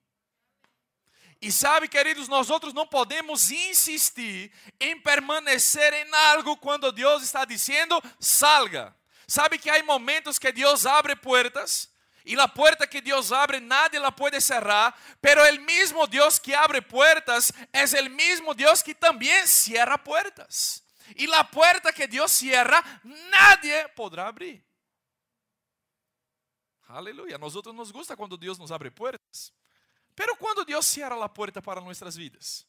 Speaker 4: E sabe, queridos, nós outros não podemos insistir em permanecer em algo quando Deus está dizendo salga. Sabe que há momentos que Deus abre portas e a porta que Deus abre nadie la pode cerrar, pero el mismo Deus que abre portas es el mismo Deus que também cierra puertas. E a porta que Deus cierra nadie podrá abrir. Aleluia. A nós outros nos gusta quando Deus nos abre portas. Pero quando Deus cierra a porta para nossas vidas?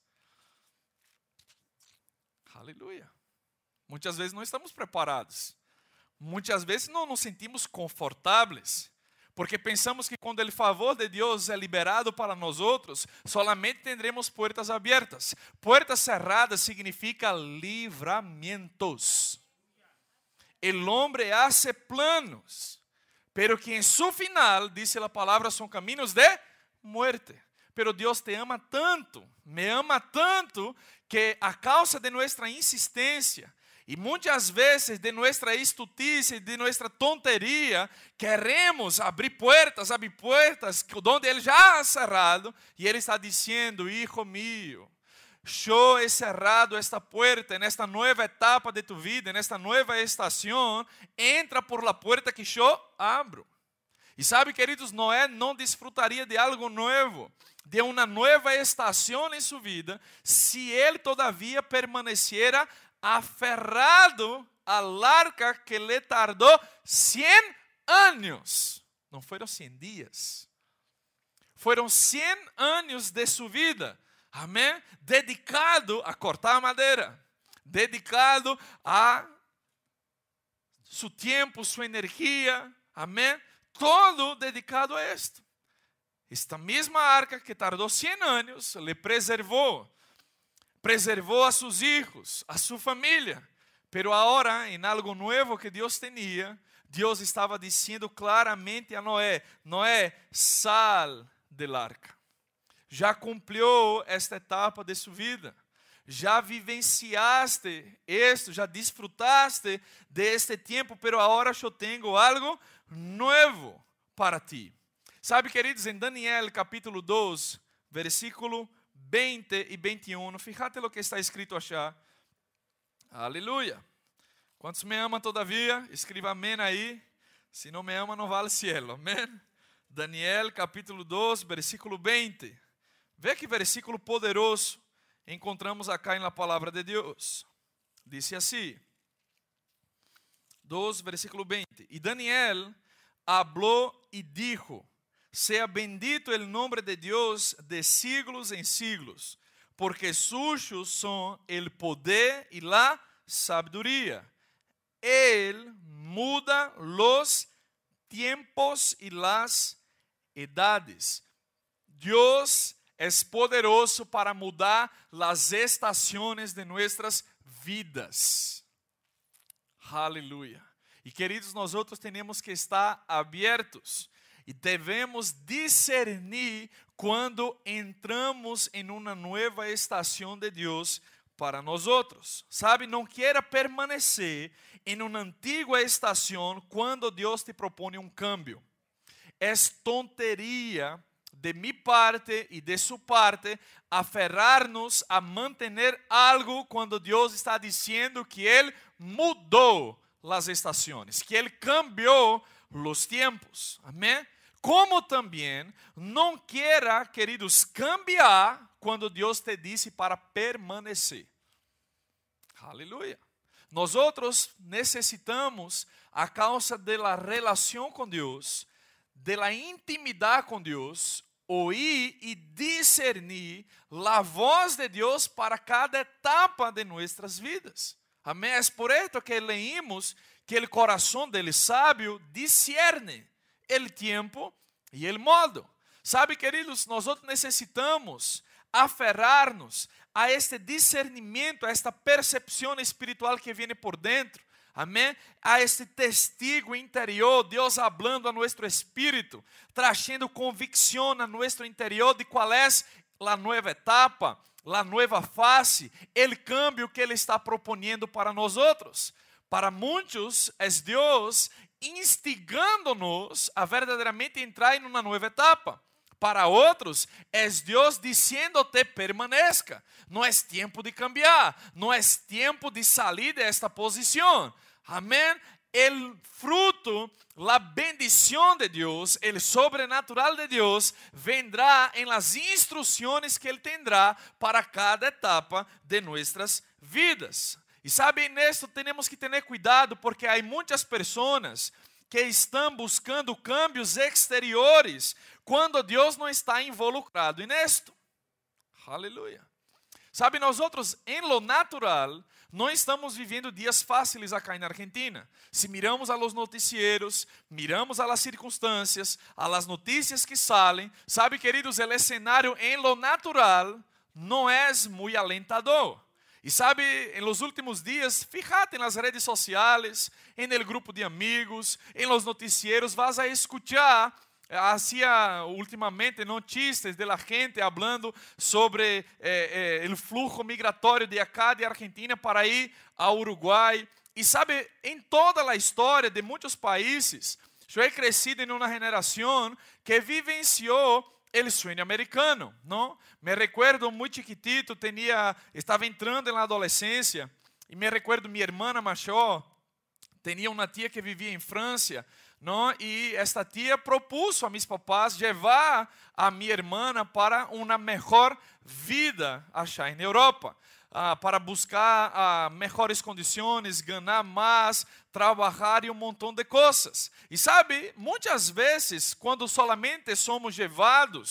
Speaker 4: Aleluia. Muitas vezes não estamos preparados. Muitas vezes não nos sentimos confortáveis. Porque pensamos que quando o favor de Deus é liberado para nós outros, solamente teremos portas abertas. Portas cerradas significa livramentos. El hombre hace planos, pero que em su final, dice a palavra, são caminhos de muerte. Pero Deus te ama tanto, me ama tanto, que a causa de nuestra insistência e muitas vezes de nossa estutice, de nossa tonteria, queremos abrir portas, abrir portas, onde Ele já ha cerrado, e Ele está dizendo: hijo mío, eu he cerrado esta puerta, nesta nova etapa de tu vida, nesta nova estação, entra por la puerta que eu abro. E sabe, queridos, Noé não desfrutaria de algo novo, de uma nova estação em sua vida, se ele todavia permaneciera aferrado al arca que le tardou cem anos. Não foram cem dias. Foram cem anos de sua vida. Amém? Dedicado a cortar madeira. Dedicado a seu tempo, sua energia. Amém? todo dedicado a esto. Esta misma arca que tardó cien años, le preservó, preservó a sus hijos, a su familia. Pero ahora, en algo nuevo que Dios tenía, Dios estaba diciendo claramente a Noé: Noé, sal del arca. Já cumpriu esta etapa de sua vida. Já vivenciaste esto, já disfrutaste de este tempo, pero agora eu tenho algo novo para ti. Sabe, queridos, em Daniel capítulo dois, versículo veinte e vinte e um, fíjate lo que está escrito allá. Aleluia. Quantos me amam todavia? Escreva amém aí. Se não me ama, não vale cielo. Amém? Daniel capítulo dois, versículo veinte. Vê que versículo poderoso encontramos acá na palavra de Deus. Diz assim, dois, versículo veinte. E Daniel habló e dijo: sea bendito el nombre de Dios de siglos en siglos, porque suyos son el poder y la sabiduría. Él muda los tiempos y las edades. Dios es poderoso para mudar las estaciones de nuestras vidas. Aleluia. E queridos, nós outros temos que estar abertos e devemos discernir quando entramos em uma nova estação de Deus para nós outros. Sabe, não queira permanecer em uma antiga estação quando Deus te propõe um cambio. É tonteria de mi parte e de sua parte aferrar-nos a manter algo quando Deus está dizendo que Ele mudou as estações, que Ele cambiou os tempos. Amém? Como também não queira, queridos, cambiar quando Deus te disse para permanecer. Aleluia. Nós outros necessitamos, a causa da relação com Deus, da intimidade com Deus, oír e discernir a voz de Deus para cada etapa de nossas vidas. Amém? É por isso que leímos que o coração dele sábio discerne o tempo e o modo. Sabe, queridos, nós necessitamos aferrar-nos a este discernimento, a esta percepção espiritual que vem por dentro. Amém? A este testigo interior, Deus hablando a nosso espírito, trazendo convicção a nosso interior de qual é a nova etapa, a nova fase, o cambio que Ele está propondo para nós outros. Para muitos, é Deus instigando-nos a verdadeiramente entrar em uma nova etapa. Para outros, é Deus dizendo-te permaneça. Não é tempo de cambiar, não é tempo de sair desta posição. Amém? O fruto, a bendição de Deus, o sobrenatural de Deus, vendrá em las instruções que Ele tendrá para cada etapa de nossas vidas. E sabe, nisso temos que ter cuidado, porque há muitas pessoas que estão buscando cambios exteriores quando Deus não está involucrado nisto. Aleluia. Sabe, nós outros, em lo natural, não estamos vivendo dias fáceis acá na Argentina. Se miramos a los noticieros, miramos a las circunstâncias, a las notícias que saem, sabe, queridos, o cenário em lo natural não é muito alentador. E sabe, em los últimos dias, fíjate nas redes sociais, em el grupo de amigos, em los noticieros, vas a escuchar, hacía ultimamente notícias de la gente hablando sobre eh, eh, el flujo migratório de acá de Argentina para ir a Uruguai. E sabe, em toda a história de muitos países, eu he crescido em uma geração que vivenciou el sueño americano, não? Me recuerdo muito chiquitito, tenía, estava entrando na adolescência, e me recuerdo minha irmã maior, tinha uma tia que vivia em França, não? E esta tia propuso a mis papás levar a minha irmã para uma melhor vida allá na Europa, ah, para buscar ah, melhores condições, ganhar mais, trabalhar e um montão de coisas. E sabe, muitas vezes, quando solamente somos levados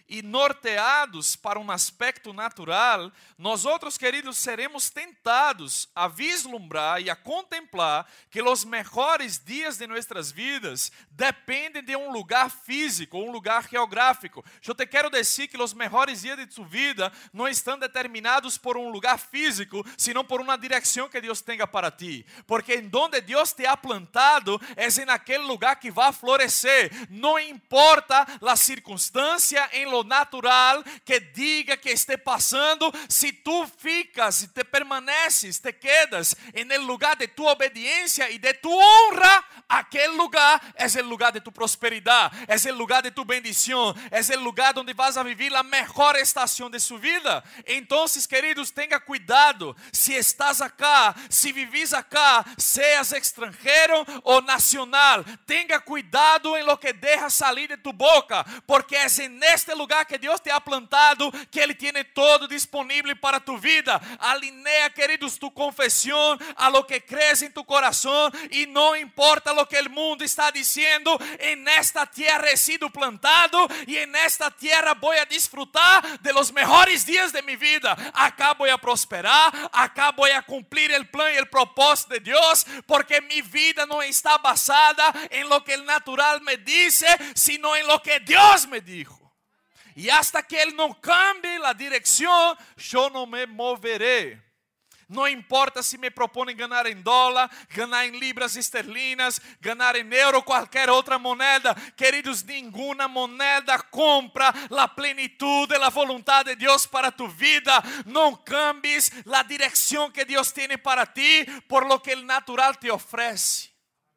Speaker 4: e norteados para um aspecto natural, nós outros, queridos, seremos tentados a vislumbrar e a contemplar que os melhores dias de nossas vidas dependem de um lugar físico, um lugar geográfico. Eu te quero dizer que os melhores dias de tu vida não estão determinados por um lugar físico, sino por uma direção que Deus tenha para ti. Porque em donde Deus te ha plantado, é em aquele lugar que vai florescer. Não importa a circunstância em lo natural que diga que esté passando, se tu ficas, se te permaneces, te quedas en el lugar de tu obediencia y de tu honra, aquel lugar es el lugar de tu prosperidad, es el lugar de tu bendición, es el lugar donde vas a vivir la mejor estación de su vida. Entonces, queridos, tenga cuidado, si estás acá, si vivís acá, seas extranjero o nacional, tenga cuidado en lo que dejas salir de tu boca, porque es en este lugar que Deus te ha plantado, que Ele tiene todo disponível para tu vida. Alinea, queridos, tu confesión a lo que crees en tu corazón, y no importa lo que el mundo está diciendo, en esta tierra he sido plantado y en esta tierra voy a disfrutar de los mejores días de mi vida. Acá voy a prosperar, acá voy a cumplir el plan y el propósito de Dios, porque mi vida no está basada en lo que el natural me dice, sino en lo que Dios me dijo. E hasta que Ele não cambie a direção, eu não me moverei. Não importa se me propõem ganhar em dólar, ganhar em libras esterlinas, ganhar em euro, qualquer outra moneda. Queridos, nenhuma moneda compra a plenitude, a vontade de Deus para tu vida. Não cambies a direção que Deus tem para ti por lo que o natural te oferece.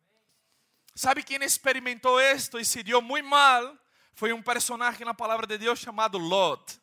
Speaker 4: ¿Sabe quem experimentou isto e se deu muito mal? Foi um personagem na palavra de Deus chamado Lot.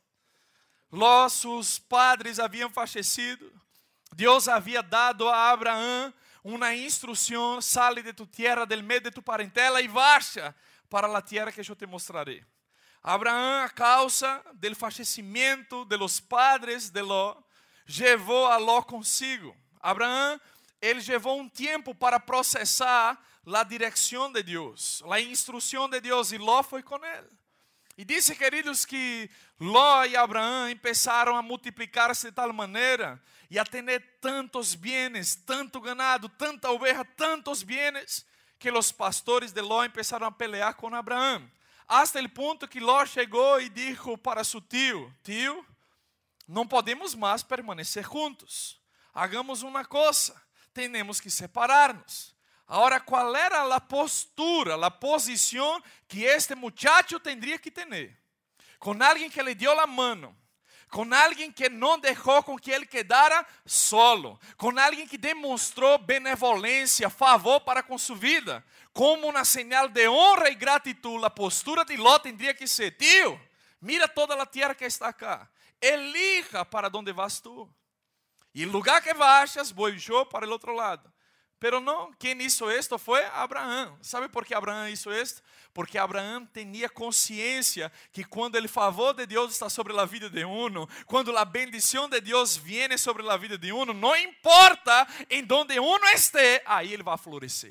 Speaker 4: Lot, seus padres haviam falecido. Deus havia dado a Abraão uma instrução: sale de tu tierra, del meio de tu parentela e vaja para a tierra que eu te mostrarei. Abraão, a causa do falecimento de los padres de Lot, levou a Lot consigo. Abraão, ele levou um tempo para processar a direção de Deus, a instrução de Deus, e Ló foi com ele. E disse, queridos, que Ló e Abraão começaram a multiplicar-se de tal maneira e a ter tantos bienes, tanto ganado, tanta oveja, tantos bienes, que os pastores de Ló começaram a pelear com Abraão. Hasta o ponto que Ló chegou e disse para seu tio: tio, não podemos mais permanecer juntos. Hagamos uma coisa, temos que separar-nos. Agora, qual era a postura, a posição que este muchacho tendría que ter? Com alguém que lhe deu a mão, com alguém que não deixou com que ele quedara solo, com alguém que demonstrou benevolência, favor para com sua vida, como uma señal de honra e gratidão. A postura de Ló tendría que ser: tio, mira toda a tierra que está acá, elija para onde vas tu, e o lugar que vayas, vou eu para o outro lado. Pero não, quem hizo esto foi Abraão. ¿Sabe por que Abraão hizo esto? Porque Abraão tinha consciência que quando o favor de Deus está sobre a vida de uno, quando a bendição de Deus viene sobre a vida de uno, não importa em donde uno esté, aí ele vai florescer.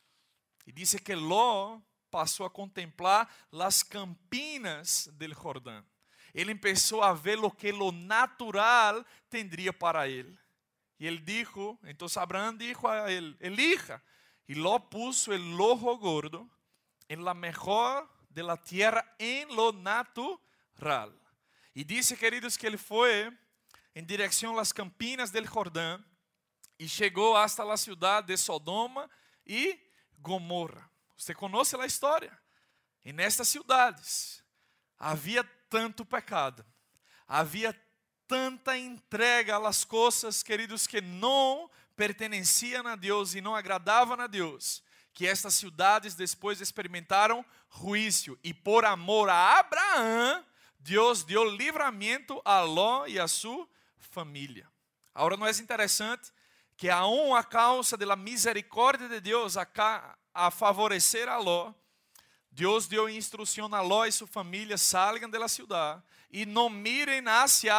Speaker 4: E diz que Ló passou a contemplar as campinas del Jordão. Ele começou a ver o que lo natural tendria para ele. E ele dijo, então Abraão dijo a ele: elija. E Ló puso el ojo gordo en la mejor de la tierra, en lo natural. E disse, queridos, que ele foi em direção às campinas del Jordão e chegou hasta a cidade de Sodoma e Gomorra. Você conhece a história? E nestas cidades havia tanto pecado, havia tanta entrega às coisas, queridos, que não pertenciam a Deus e não agradavam a Deus, que estas cidades depois experimentaram juízo. E por amor a Abraão, Deus deu livramento a Ló e a sua família. Agora, não é interessante que aún a causa da misericórdia de Deus a, a favorecer a Ló, Deus deu instrução a Ló e sua família: salgam da cidade e não mirem hacia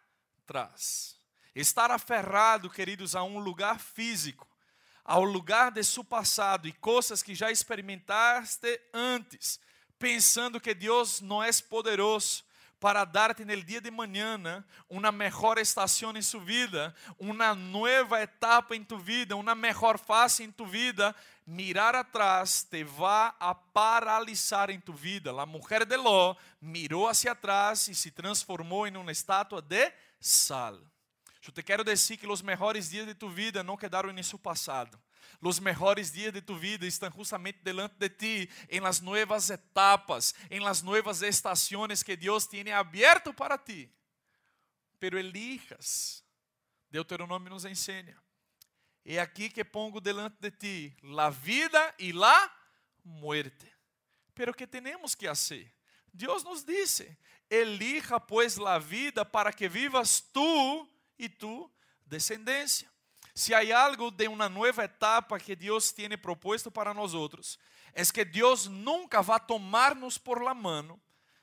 Speaker 4: atrás. Estar aferrado, queridos, a um lugar físico, ao lugar de seu passado e coisas que já experimentaste antes, pensando que Deus não é poderoso, para darte en el día de mañana una mejor estación en su vida, una nueva etapa en tu vida, una mejor fase en tu vida, mirar atrás te va a paralisar en tu vida. La mujer de Ló miró hacia atrás y se transformó en una estatua de sal. Yo te quiero decir que los mejores días de tu vida no quedaron en su pasado. Los mejores días de tu vida están justamente delante de ti, en las nuevas etapas, en las nuevas estaciones que Dios tiene abierto para ti. Pero elijas. Deuteronômio nos enseña. He aquí que pongo delante de ti la vida y la muerte. Pero ¿qué tenemos que hacer? Dios nos dice, elija pues la vida para que vivas tú y tu descendencia. Se há algo de uma nova etapa que Deus tem proposto para nós outros, é que Deus nunca vai tomar-nos por la mano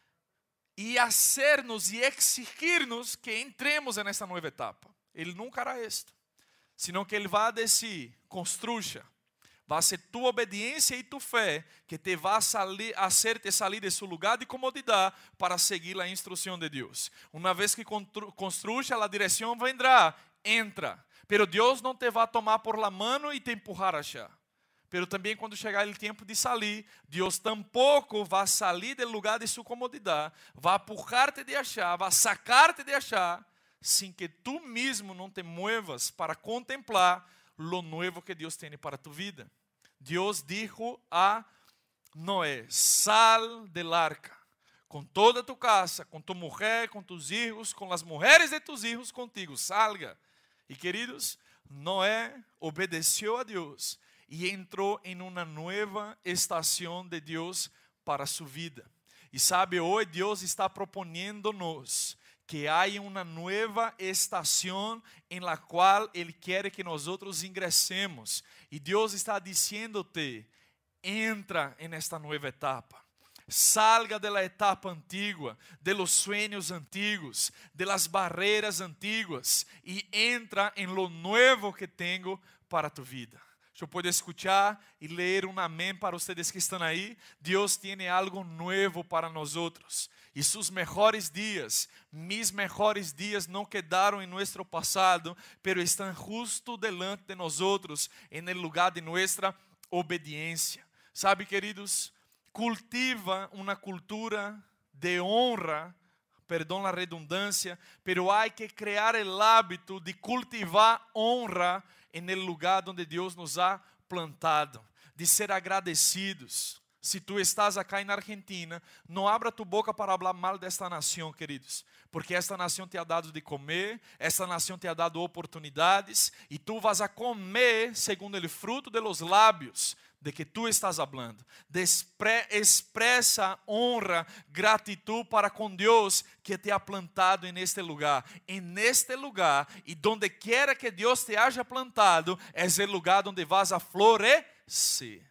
Speaker 4: e hacer-nos e exigir-nos que entremos nessa nova etapa. Ele nunca hará isto, senão que Ele vai dizer, construya, vai ser tu obediência e tu fé que te vai hacer-te salir de seu lugar de comodidade para seguir a instrução de Deus. Uma vez que construya, a direção vendrá, entra. Pero Deus não te vai tomar por la mano e te empurrar allá. Pero também quando chegar o tempo de salir, Deus tampouco vai salir do lugar de sua comodidade, vai empurrar-te de allá, vai sacar-te de allá, sem que tu mesmo não te muevas para contemplar lo nuevo que Deus tem para tu vida. Deus dijo a Noé, sal del arca, com toda tu casa, com tu mujer, com tus hijos, com as mulheres de tus hijos contigo, salga. E queridos, Noé obedeceu a Deus e entrou em uma nova estação de Deus para sua vida. E sabe, hoje Deus está propondo-nos que há uma nova estação em la qual Ele quer que nós outros ingressemos. E Deus está dizendo-te, entra em esta nova etapa. Salga de la etapa antigua, de los sueños antiguos, de las barreras antiguas y entra en lo nuevo que tengo para tu vida. Yo puedo escuchar y leer un amén para ustedes que están ahí. Dios tiene algo nuevo para nosotros. Y sus mejores días, mis mejores días no quedaron en nuestro pasado, pero están justo delante de nosotros en el lugar de nuestra obediencia. ¿Sabe, queridos? Cultiva uma cultura de honra, perdão a redundância, pero há que criar o hábito de cultivar honra en el lugar onde Deus nos ha plantado, de ser agradecidos. Se tu estás acá na Argentina, não abra tu boca para falar mal desta nação, queridos, porque esta nação te ha dado de comer, esta nação te ha dado oportunidades, e tu vas a comer segundo o fruto de los lábios de que tu estás hablando. Despre, expressa honra, gratitud para com Deus que te ha plantado en este lugar. En este lugar, e donde quiera que Deus te haya plantado, es el lugar donde vas a florecer.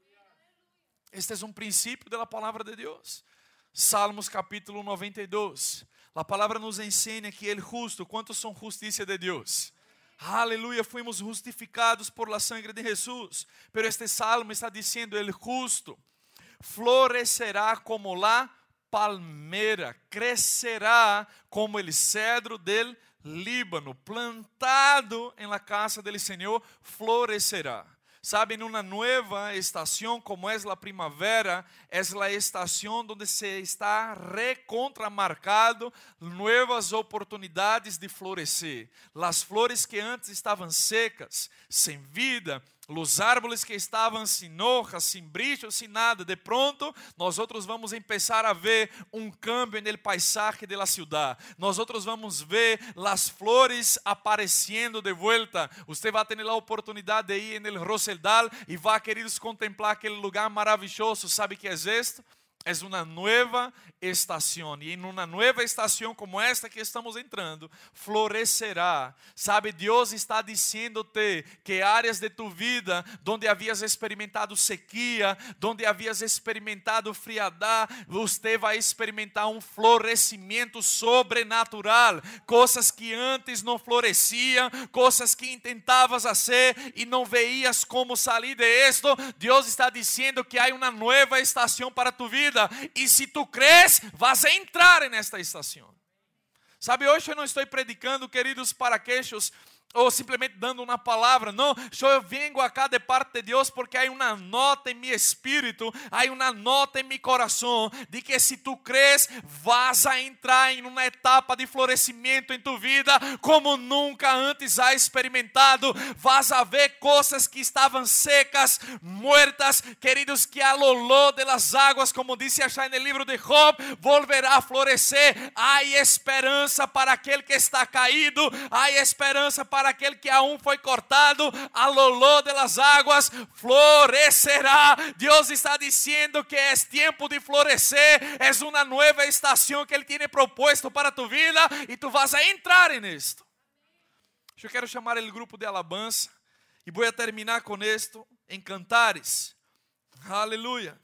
Speaker 4: Este es un princípio de la palavra de Deus. Salmos capítulo noventa e dois. A palavra nos ensina que el justo, quantos são justiça de Deus? Aleluia, fuimos justificados por la sangre de Jesús. Pero este salmo está diciendo, el justo florecerá como la palmera, crecerá como el cedro del Líbano, plantado en la casa del Señor, florecerá. Sabe, em uma nova estação, como é a primavera, é a estação onde se está recontramarcado novas oportunidades de florescer. As flores que antes estavam secas, sem vida, os árboles que estavam sem hojas, sem brilho, sem nada, de pronto, nós outros vamos começar a ver um cambio no paisaje da cidade. Nós outros vamos ver as flores aparecendo de volta. Você vai ter a oportunidade de ir no Rosedal e vai querer contemplar aquele lugar maravilhoso. Sabe que é isto? É uma nova estação. E em uma nova estação como esta que estamos entrando, florescerá. Sabe, Deus está dizendo-te que áreas de tu vida, onde havias experimentado sequia, onde havias experimentado frialdade, você vai experimentar um florescimento sobrenatural. Coisas que antes não floresciam, coisas que tentavas fazer e não veias como sair de esto. Deus está dizendo que há uma nova estação para tu vida. vida. E se tu crees, vas a entrar nesta estação. Sabe, hoje eu não estou predicando, queridos, para aqueles ou simplesmente dando uma palavra. Não, eu vengo acá de parte de Deus porque há uma nota em meu espírito, há uma nota em meu coração de que se tu crees, vas a entrar em uma etapa de florescimento em tu vida como nunca antes has experimentado. Vas a ver coisas que estavam secas, muertas, queridos, que a loló de las águas, como disse achar no livro de Job, volverá a florescer. Há esperança para aquele que está caído, há esperança para para aquele que aún foi cortado, a loló de las águas florescerá. Deus está dizendo que é tempo de florescer, é uma nova estação que Ele tem proposto para tu vida e tu vas a entrar nisto. Eu quero chamar o grupo de alabança e vou terminar com isto em Cantares. Aleluia.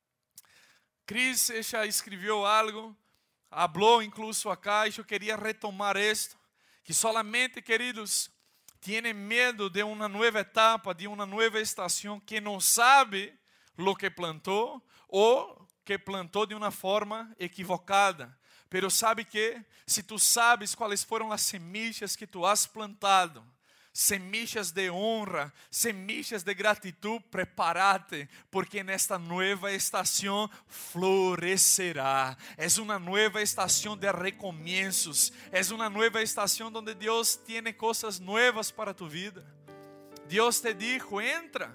Speaker 4: Cris já escreveu algo, falou incluso acá, e eu queria retomar isto. Que solamente, queridos, tienen medo de uma nova etapa, de uma nova estação, que não sabe lo que plantou ou que plantou de uma forma equivocada. Pero sabe que, se tu sabes quais foram as semillas que tu has plantado, semillas de honra, semillas de gratitud, prepárate, porque nesta nova estação florescerá. É uma nova estação de recomeços, é uma nova estação onde Deus tem coisas novas para tu vida. Deus te dijo, entra,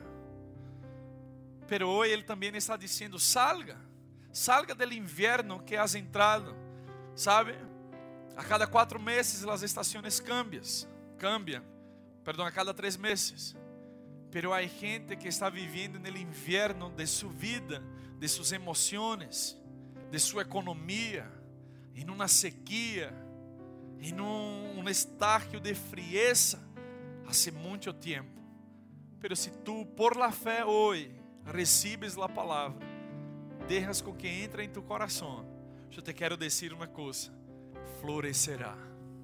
Speaker 4: pero hoje Ele também está dizendo, salga, salga do inverno que has entrado. Sabe, a cada quatro meses as estações cambiam, cambiam. Perdão, a cada três meses. Pero há gente que está vivendo no inverno de sua vida, de suas emoções, de sua economia, em uma sequia, em um, um estágio de frieza, há muito tempo. Pero se tu, por la fé hoje, recebes a palavra, deixas com que entre em tu coração, eu te quero dizer uma coisa: florescerá,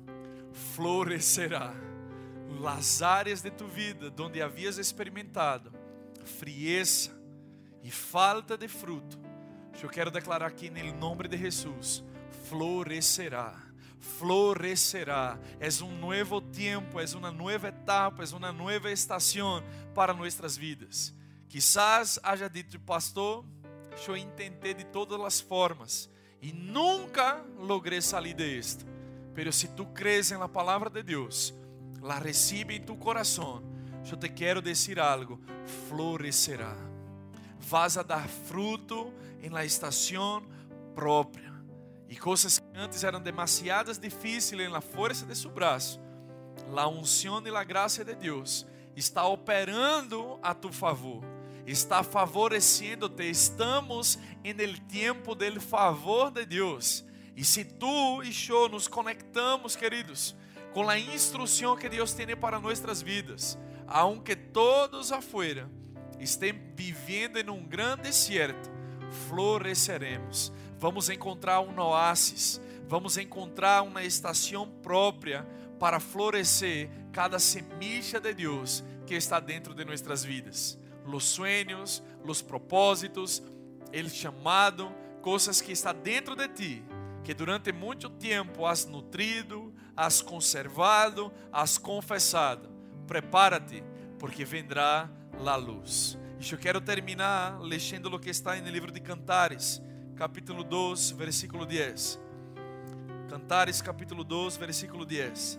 Speaker 4: florescerá. Las áreas de tu vida onde havias experimentado frieza e falta de fruto, eu quero declarar aqui no nome de Jesus, florescerá, florescerá. É um novo tempo, é uma nova etapa, é uma nova estação para nossas vidas. Quizás haja dito, pastor, eu tentei de todas as formas e nunca logrei sair de isto. Pero se tu crees na palavra de Deus, la recibe em tu coração, eu te quero dizer algo: florescerá. Vas a dar fruto em la estação própria. E coisas que antes eram demasiadas difíceis em la força de seu braço, la unção e la graça de Deus está operando a tu favor, está favorecendo-te. Estamos em el tempo del favor de Deus. E se tu e eu nos conectamos, queridos, com a instrução que Deus tem para nossas vidas, aunque todos afuera estejam vivendo em um grande deserto, floresceremos. Vamos encontrar um oásis, vamos encontrar uma estação própria para florescer cada semilla de Deus que está dentro de nossas vidas. Los sueños, los propósitos, el chamado, coisas que está dentro de ti, que durante muito tempo has nutrido, has conservado, has confessado. Prepara-te, porque vendrá a luz. E eu quero terminar lendo o que está no livro de Cantares, capítulo dois, versículo dez. Cantares, capítulo dois, versículo dez.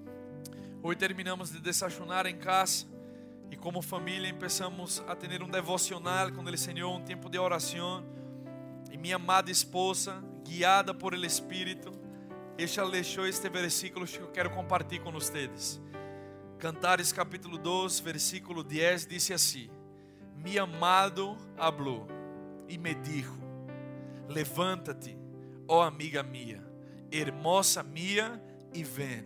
Speaker 4: Hoje terminamos de desayunar em casa e como família começamos a ter um devocional com o Senhor, um tempo de oração. E minha amada esposa, guiada por el Espírito, ella deixou este versículo que eu quero compartilhar com vocês. Cantares capítulo dois, versículo dez, diz assim: Mi amado habló e me dijo, levanta-te, ó amiga mía, hermosa mía, e ven.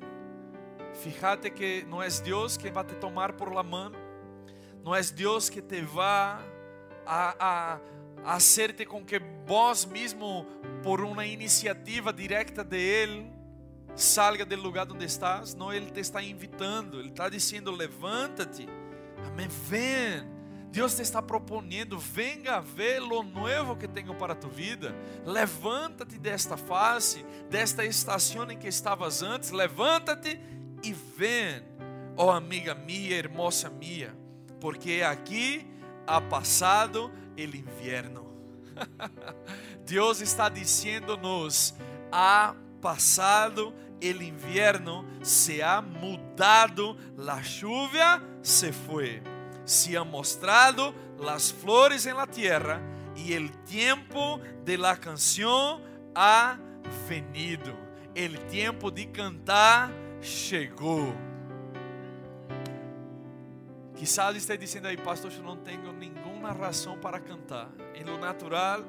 Speaker 4: Fíjate que não é Deus que vai te tomar por la mano, não é Deus que te vai a, a hacerte com que vos mesmo, por uma iniciativa directa de Ele, salga do lugar onde estás. Não, Ele te está invitando, Ele está dizendo, levanta-te, amém, ven, Deus te está propondo: venga ver lo nuevo que tenho para tu vida. Levanta-te desta fase, desta estação em que estavas antes. Levanta-te e vem, ó amiga minha, hermosa minha, porque aqui ha passado o inverno. Deus está dizendo-nos: ha passado o inverno, se ha mudado, a chuva se foi, se ha mostrado las flores en la tierra y el tiempo de la canción ha venido. El tiempo de cantar chegou. Quizás esteja dizendo aí: pastor, eu não tenho nenhuma razão para cantar. Em lo natural,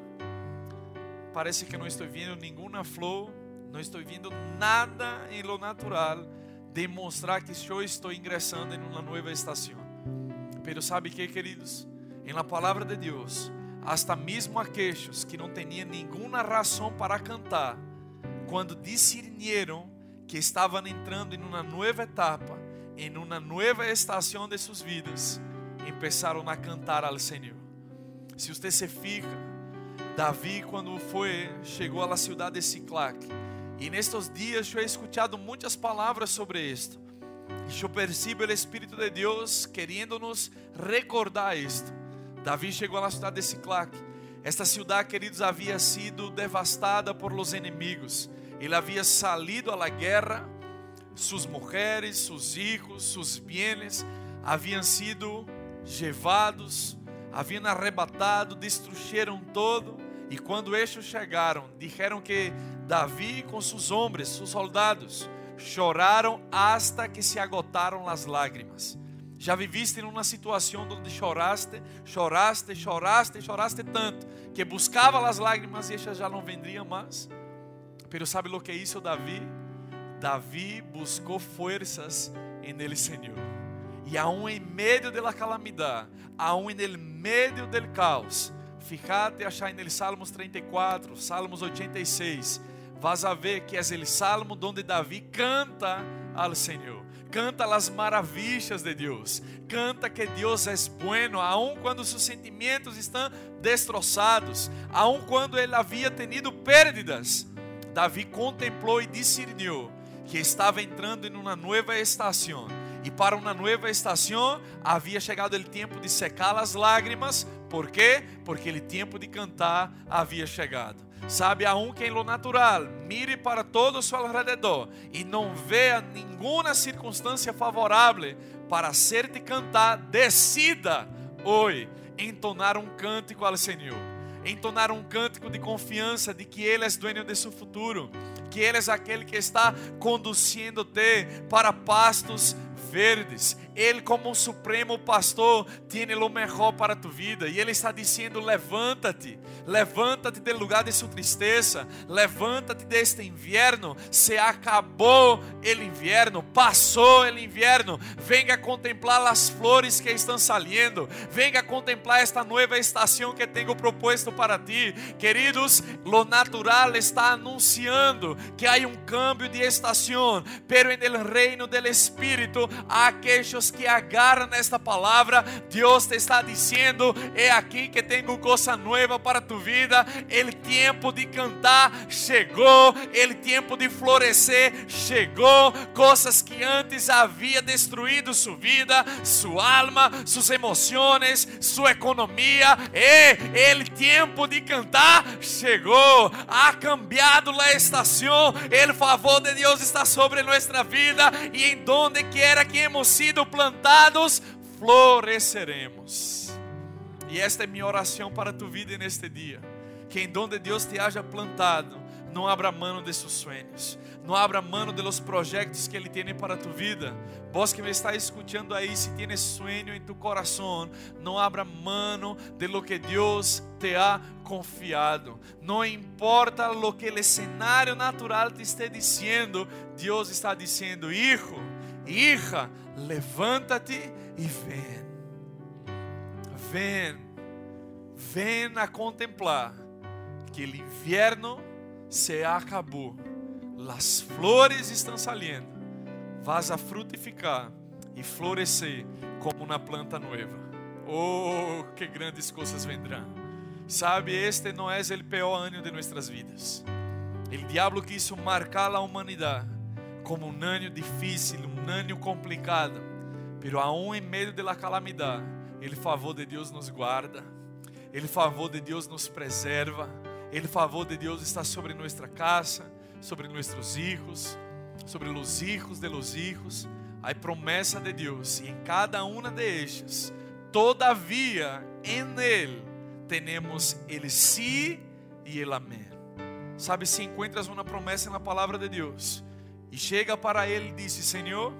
Speaker 4: parece que não estou vendo nenhuma flor, não estou vendo nada em lo natural demonstrar que eu estou ingressando em uma nova estação. Pero sabe que, queridos, em la palavra de Deus, hasta mesmo aqueles que não tinham nenhuma razão para cantar, quando discernieron que estavam entrando em uma nova etapa, em uma nova estação de suas vidas, começaram a cantar ao Senhor. Se você se fija, Davi, quando foi, chegou à cidade de Siclac, e nestes dias eu he escuchado muitas palavras sobre isto. E eu percebo o Espírito de Deus querendo-nos recordar isto. Davi chegou à cidade de Siclac. Esta cidade, queridos, havia sido devastada por los inimigos. Ele havia salido à guerra. Suas mulheres, seus filhos, seus bienes haviam sido levados, haviam arrebatado, destruíram todo. E quando estes chegaram, disseram que Davi com seus homens, seus soldados, choraram hasta que se agotaram as lágrimas. Já viviste em uma situação onde choraste, choraste, choraste, choraste tanto que buscava as lágrimas e elas já não vendriam mais? Pero sabe o que hizo Davi? Davi buscou forças en el Senhor. E aún em meio da calamidade, aún en el meio del caos, fíjate achar en el Salmos trinta e quatro, Salmos oitenta e seis, vas a ver que é o salmo onde Davi canta ao Senhor, canta as maravilhas de Deus, canta que Deus é bueno, aun quando seus sentimentos estão destroçados, aun quando ele havia tenido pérdidas. Davi contemplou e discerniu que estava entrando em uma nova estação, e para uma nova estação havia chegado o tempo de secar as lágrimas. Por quê? Porque o tempo de cantar havia chegado. Sabe, aun que em lo natural mire para todo o seu alrededor e não veja nenhuma circunstância favorável para hacerte cantar, decida hoje entonar um cântico ao Senhor, entonar um cântico de confiança de que Ele é dueño de seu futuro, que Ele é aquele que está conduzindo-te para pastos verdes. Ele, como um supremo pastor, tem o melhor para tu vida. E Ele está dizendo: levanta-te, levanta-te do lugar de sua tristeza, levanta-te deste inverno. Se acabou o inverno, passou o inverno. Venga contemplar as flores que estão saliendo, venga contemplar esta nova estação que tenho proposto para ti. Queridos, lo natural está anunciando que há um cambio de estação, pero en el reino del Espírito há aqueles que agarram esta palavra. Deus te está dizendo: é aqui que tenho coisa nova para tu vida. O tempo de cantar chegou, o tempo de florescer chegou. Coisas que antes havia destruído sua vida, sua alma, suas emoções, sua economia, e o tempo de cantar chegou. Ha cambiado a estação. O favor de Deus está sobre nossa vida, e em donde quiera que hemos sido plantados, floresceremos. E esta é minha oração para tu vida neste dia: que em donde Deus te haja plantado, não abra mão de seus sonhos, não abra mão de los projetos que Ele tem para tu vida. Vos que me está escutando aí, se tienes sueño em tu coração, não abra mão de lo que Deus te ha confiado. Não importa lo que o cenário natural te esteja dizendo, Deus está dizendo: hijo, hija, levanta-te e vem. Vem, vem a contemplar que o inverno se acabou, as flores estão saliendo, vas a frutificar e florescer como uma planta nova. oh, que grandes coisas vendrão. Sabe, este não é o pior ano de nossas vidas. O diabo quiso marcar a humanidade como um ano difícil, um ano complicado. Pero aún em meio da calamidade, o favor de Deus nos guarda, o favor de Deus nos preserva, o favor de Deus está sobre nossa casa, sobre nossos filhos, sobre os filhos de los hijos. Há promessa de Deus e em cada uma de ellas, todavia em Ele, temos el sí e el amém. Sabe, se encontras uma promessa na palavra de Deus e chega para Ele e diz: Senhor,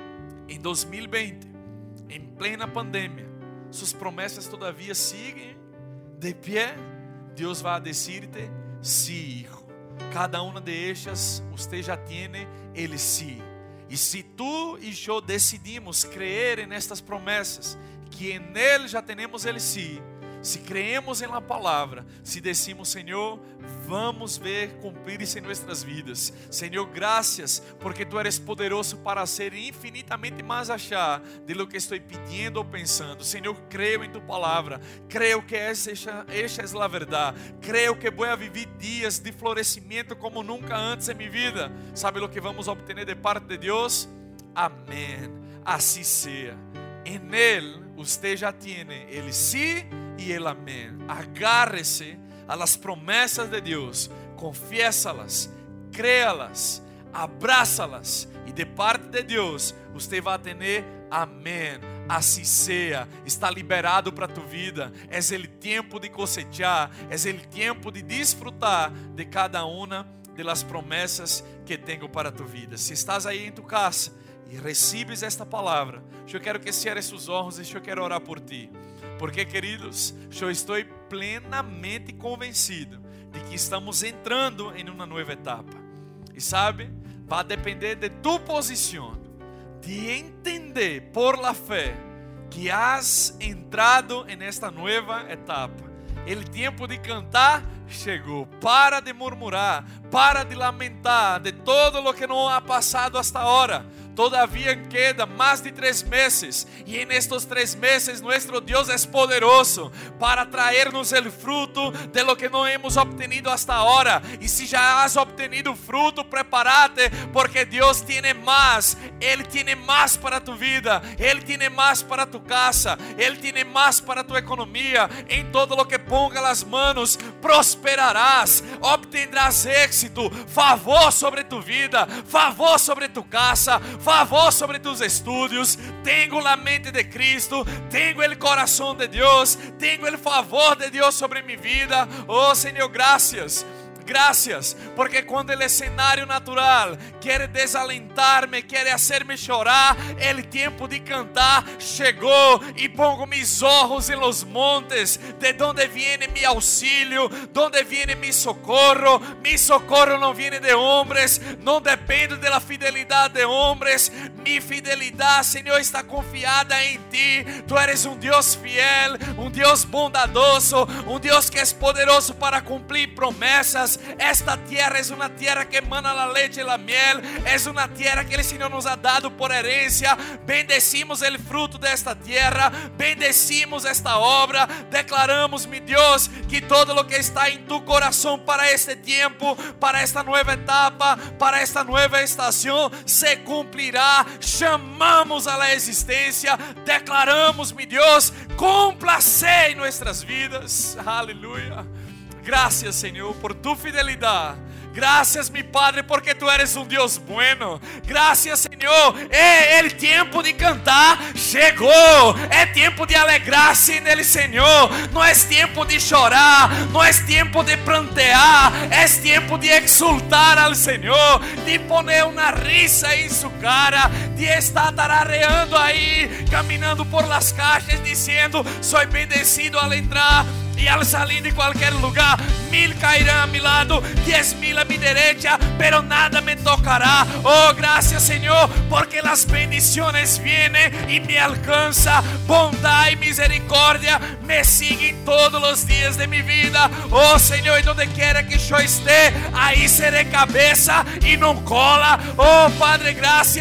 Speaker 4: em dois mil e vinte, em plena pandemia, suas promessas todavia siguen de pé, Deus vai dizer-te: sí, hijo. Cada uma de ellas, você já tem el sí. E se tu e eu decidimos crer em estas promessas, que em Ele já temos el sí, se creemos em la palavra, se decimos: Senhor, vamos ver cumprir-se em nossas vidas. Senhor, graças, porque Tu eres poderoso para ser infinitamente mais allá de lo que estou pedindo ou pensando. Senhor, creio em Tu palavra, creio que essa, essa é a verdade, creio que vou viver dias de florescimento como nunca antes em minha vida. Sabe o que vamos obter de parte de Deus? Amém. Assim seja. Em Ele, você já tem Ele sí e el amém. Agárrese a las promessas de Deus, confiesa-las, créalas, abraça-las e de parte de Deus você vai ter amém. Assim seja, está liberado para tu vida. É o tempo de cosechar, é o tempo de desfrutar de cada uma das promessas que tenho para tu vida. Se estás aí em tu casa e recebes esta palavra, eu quero que cierres os olhos e eu quero orar por ti. Porque, queridos, eu estou plenamente convencido de que estamos entrando em uma nova etapa. E sabe, vai depender de tu posição, de entender por la fé que has entrado em esta nova etapa. O tempo de cantar chegou. Para de murmurar, para de lamentar de todo o que não ha passado hasta agora. Todavia queda mais de três meses, e em estes três meses nosso Deus é poderoso para trazer-nos o fruto de lo que não hemos obtenido hasta agora. E se já has obtenido fruto, prepárate, porque Deus tem mais. Ele tem mais para tu vida, Ele tem mais para tu casa, Ele tem mais para tu economia. Em todo lo que ponga as manos, prosperarás, obtendrás êxito, favor sobre tu vida, favor sobre tu casa, favor sobre tus estudios. Tenho a mente de Cristo, tenho o coração de Deus, tenho o favor de Deus sobre minha vida. Oh Senhor, graças. Graças, porque quando o cenário natural quer desalentar-me, quer fazer-me chorar, o tempo de cantar chegou e pongo mis olhos em los montes, de onde viene mi auxílio, de onde viene mi socorro. Mi socorro não viene de homens, não depende da fidelidade de homens. Mi fidelidade, Senhor, está confiada em Ti. Tu eres um Deus fiel, um Deus bondadoso, um Deus que é poderoso para cumprir promessas. Esta tierra é uma tierra que emana a leite e a miel, é uma tierra que o Senhor nos ha dado por herencia. Bendecimos o fruto desta tierra, bendecimos esta obra, declaramos, mi Deus, que todo lo que está em tu coração para este tempo, para esta nova etapa, para esta nova estação, se cumprirá. Chamamos a la existência, declaramos, mi Deus, complace em nossas vidas. Aleluia. Graças, Senhor, por tu fidelidade. Graças, mi Padre, porque Tu eres um Deus bueno. Graças, Senhor. É o tempo de cantar chegou. É tempo de alegrar-se nele, Senhor. Não é tempo de chorar, não é tempo de prantear, é tempo de exultar ao Senhor, de poner uma risa em sua cara, de estar tarareando aí, caminhando por las calles, dizendo: soy bendecido al entrar e al salir de qualquer lugar. Mil cairão a mi lado, diez mil a mi derecha, pero nada me tocará. Oh, gracias, Senhor, porque las bendiciones vienen y me alcanza. Bondad y misericordia me siguen todos los días de mi vida. Oh, Senhor, e donde quiera que yo esté, ahí seré cabeza y no cola. Oh, Padre, gracias.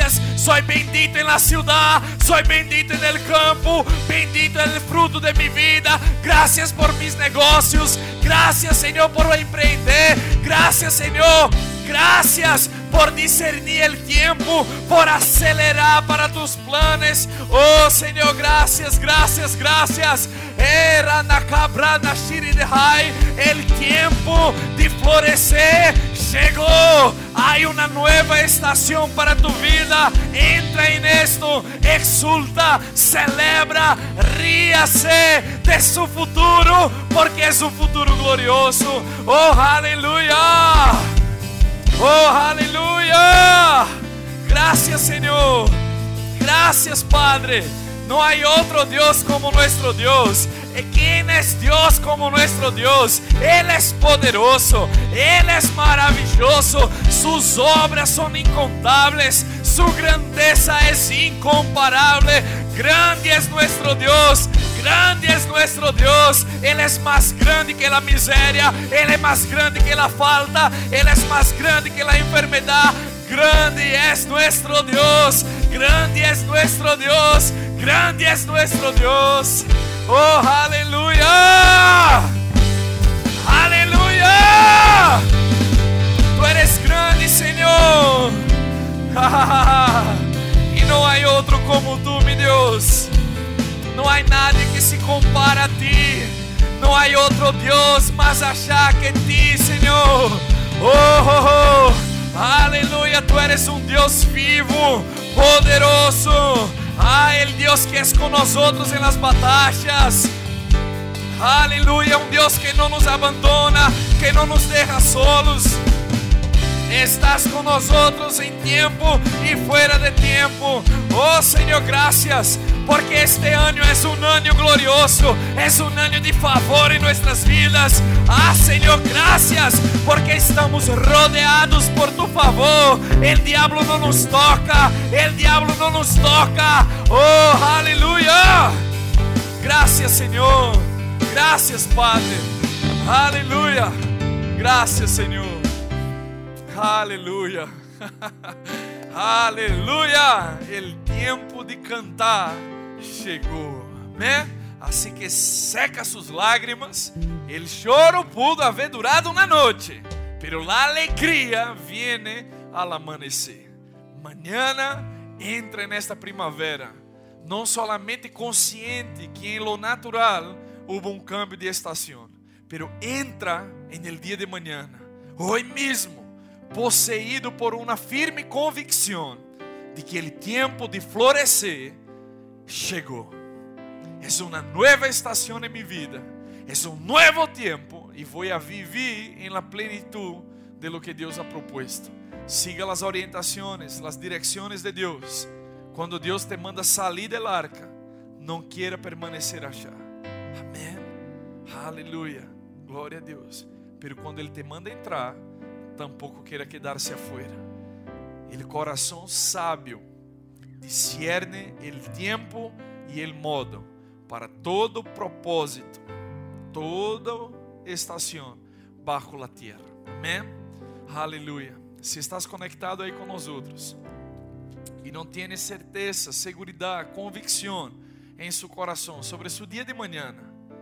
Speaker 4: soy bendito en la ciudad, soy bendito en el campo, bendito en el fruto de mi vida. Gracias por mis negocios, gracias Señor por emprender, gracias Señor, gracias por discernir el tiempo, por acelerar para tus planes. Oh Señor, gracias, gracias, gracias. El tiempo de florecer llegó. Hay una nueva estación para tu vida. Entra en esto, exulta, celebra, ríase de su futuro, porque es un futuro glorioso. Oh, aleluya. Oh, aleluya. Gracias Señor. Gracias Padre. No hay otro Dios como nuestro Dios. ¿Quién es Dios como nuestro Dios? Él es poderoso, Él es maravilloso, sus obras son incontables, su grandeza es incomparable. Grande es nuestro Dios, grande es nuestro Dios. Él es más grande que la miseria, Él es más grande que la falta, Él es más grande que la enfermedad. Grande es nuestro Dios, grande es nuestro Dios, grande es nuestro Dios. Oh, aleluya, aleluya. Tú eres grande, Señor. Y no hay otro como tú, mi Dios. No hay nadie que se compara a ti. No hay otro Dios más allá que ti, Señor. Oh, oh, oh. Aleluya, tú eres un Dios vivo, poderoso. Ah, el Dios que es con nosotros en las batallas. Aleluya, un Dios que no nos abandona, que no nos deja solos. Estás con nosotros en tiempo y fuera de tiempo. Oh Señor, gracias, porque este año es un año glorioso, es un año de favor en nuestras vidas. Ah Señor, gracias, porque estamos rodeados por tu favor. El diablo no nos toca, el diablo no nos toca. Oh, aleluya. Gracias Señor, gracias Padre. Aleluya, gracias Señor. Aleluya. Aleluya. El tiempo de cantar llegó. ¿Eh? Así que seca sus lágrimas. El choro pudo haber durado una noche, pero la alegría viene al amanecer. Mañana entra en esta primavera, no solamente consciente que en lo natural hubo un cambio de estación, pero entra en el día de mañana, hoy mismo, poseído por una firme convicción de que el tiempo de florecer llegó. Es una nueva estación en mi vida, es un nuevo tiempo y voy a vivir en la plenitud de lo que Dios ha propuesto. Siga las orientaciones, las direcciones de Dios. Cuando Dios te manda salir del arca, no quiera permanecer allá. Amén. Aleluya. Gloria a Dios. Pero cuando Él te manda entrar, tampoco quiera quedarse afuera. El corazón sabio discierne el tiempo y el modo para todo propósito, toda estación bajo la tierra. Amén. Aleluya. Si estás conectado ahí con nosotros y no tienes certeza, seguridad, convicción en su corazón sobre su día de mañana,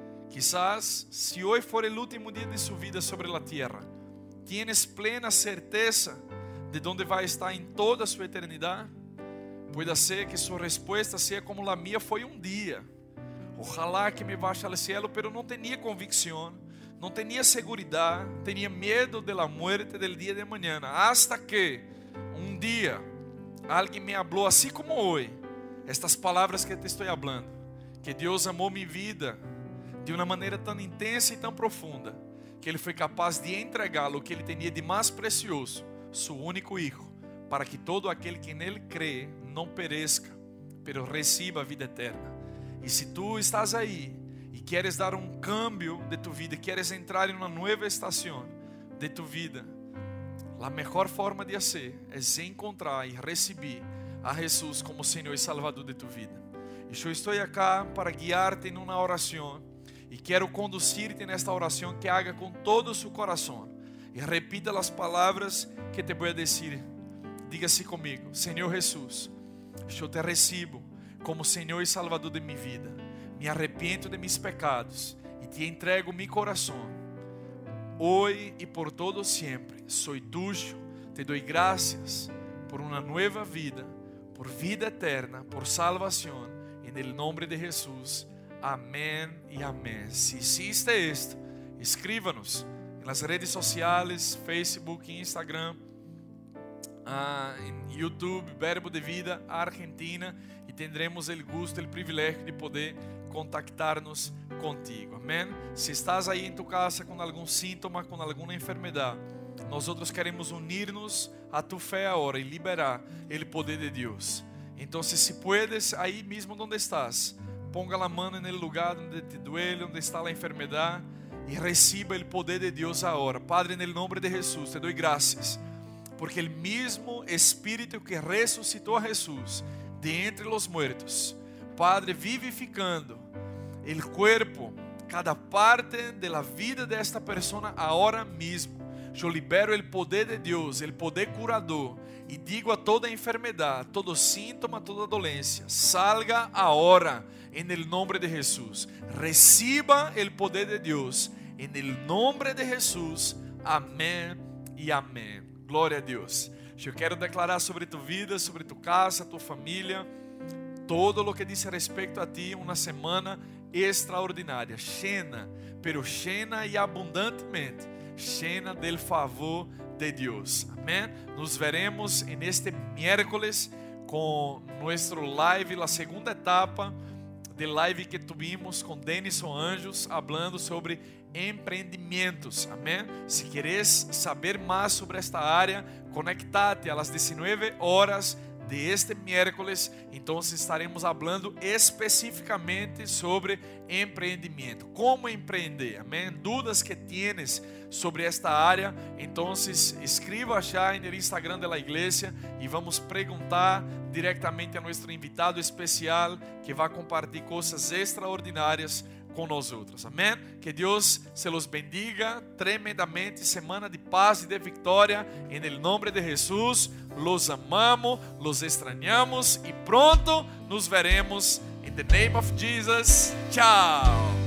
Speaker 4: quizás si hoy fuera el último día de su vida sobre la tierra, tienes plena certeza de dónde va a estar en toda su eternidad. Puede ser que su respuesta sea como la mía fue un día. Ojalá que me vaya al cielo, pero no tenía convicción, no tenía seguridad, tenía miedo de la muerte del día de mañana. Hasta que un día alguien me habló así como hoy, estas palabras que te estoy hablando, que Dios amó mi vida de una manera tan intensa y tan profunda, que Ele foi capaz de entregar o que Ele tinha de mais precioso, seu único Hijo, para que todo aquele que nele crê não pereça, pero reciba a vida eterna. E se tu estás aí e queres dar um cambio de tu vida, queres entrar em uma nova estação de tu vida, a melhor forma de fazer é encontrar e receber a Jesus como Senhor e Salvador de tu vida. E eu estou aqui para guiar-te em uma oração. E quero conduzir-te nesta oração que haga com todo o seu coração. E repita as palavras que te vou dizer. Diga assim comigo: Senhor Jesus, eu te recebo como Senhor e Salvador de minha vida. Me arrependo de mis pecados e te entrego mi coração. Hoje e por todo sempre, sou tuyo. Te dou graças por uma nova vida, por vida eterna, por salvação. Em el nome de Jesus. Amém e amém. Se hiciste esto, escríbanos nas redes sociais, Facebook, Instagram, uh, em YouTube, Verbo de Vida Argentina, e tendremos o gosto, o privilégio de poder contactar-nos contigo. Amém? Se estás aí em tu casa com algum síntoma, com alguma enfermidade, nós outros queremos unir-nos a tu fé agora e liberar o poder de Deus. Então, se puedes, aí mesmo onde estás, ponga a mão no lugar onde te duele, onde está a enfermidade, e receba o poder de Deus agora. Padre, no nome de Jesus, te dou graças, porque o mesmo Espírito que ressuscitou a Jesus de entre os muertos, Padre, vivificando o corpo, cada parte da vida desta pessoa agora mesmo. Eu libero o poder de Deus, o poder curador, e digo a toda enfermidade, todo síntoma, toda doença, salga agora, em el nome de Jesus. Reciba o poder de Deus, em el nome de Jesus. Amém e amém. Glória a Deus. Eu quero declarar sobre tu vida, sobre tu casa, tu família, todo o que diz respeito a ti, uma semana extraordinária, llena, pero llena e abundantemente, llena del favor de Deus. Amém? Nos veremos en este miércoles com nuestro live, a segunda etapa de live que tuvimos com Denison Anjos, hablando sobre empreendimentos. Amém? Se queres saber mais sobre esta área, conectate a las diecinueve horas de este miércoles. Então estaremos falando especificamente sobre empreendimento, como empreender. Amém? Dúvidas que tienes sobre esta área, então escreva já no Instagram da igreja e vamos perguntar diretamente a nosso invitado especial que vai compartilhar coisas extraordinárias com nós outros. Amém? Que Deus se los bendiga tremendamente. Semana de paz e de vitória. Em nome de Jesus, los amamos, los extrañamos e pronto nos veremos. In the name of Jesus. Tchau.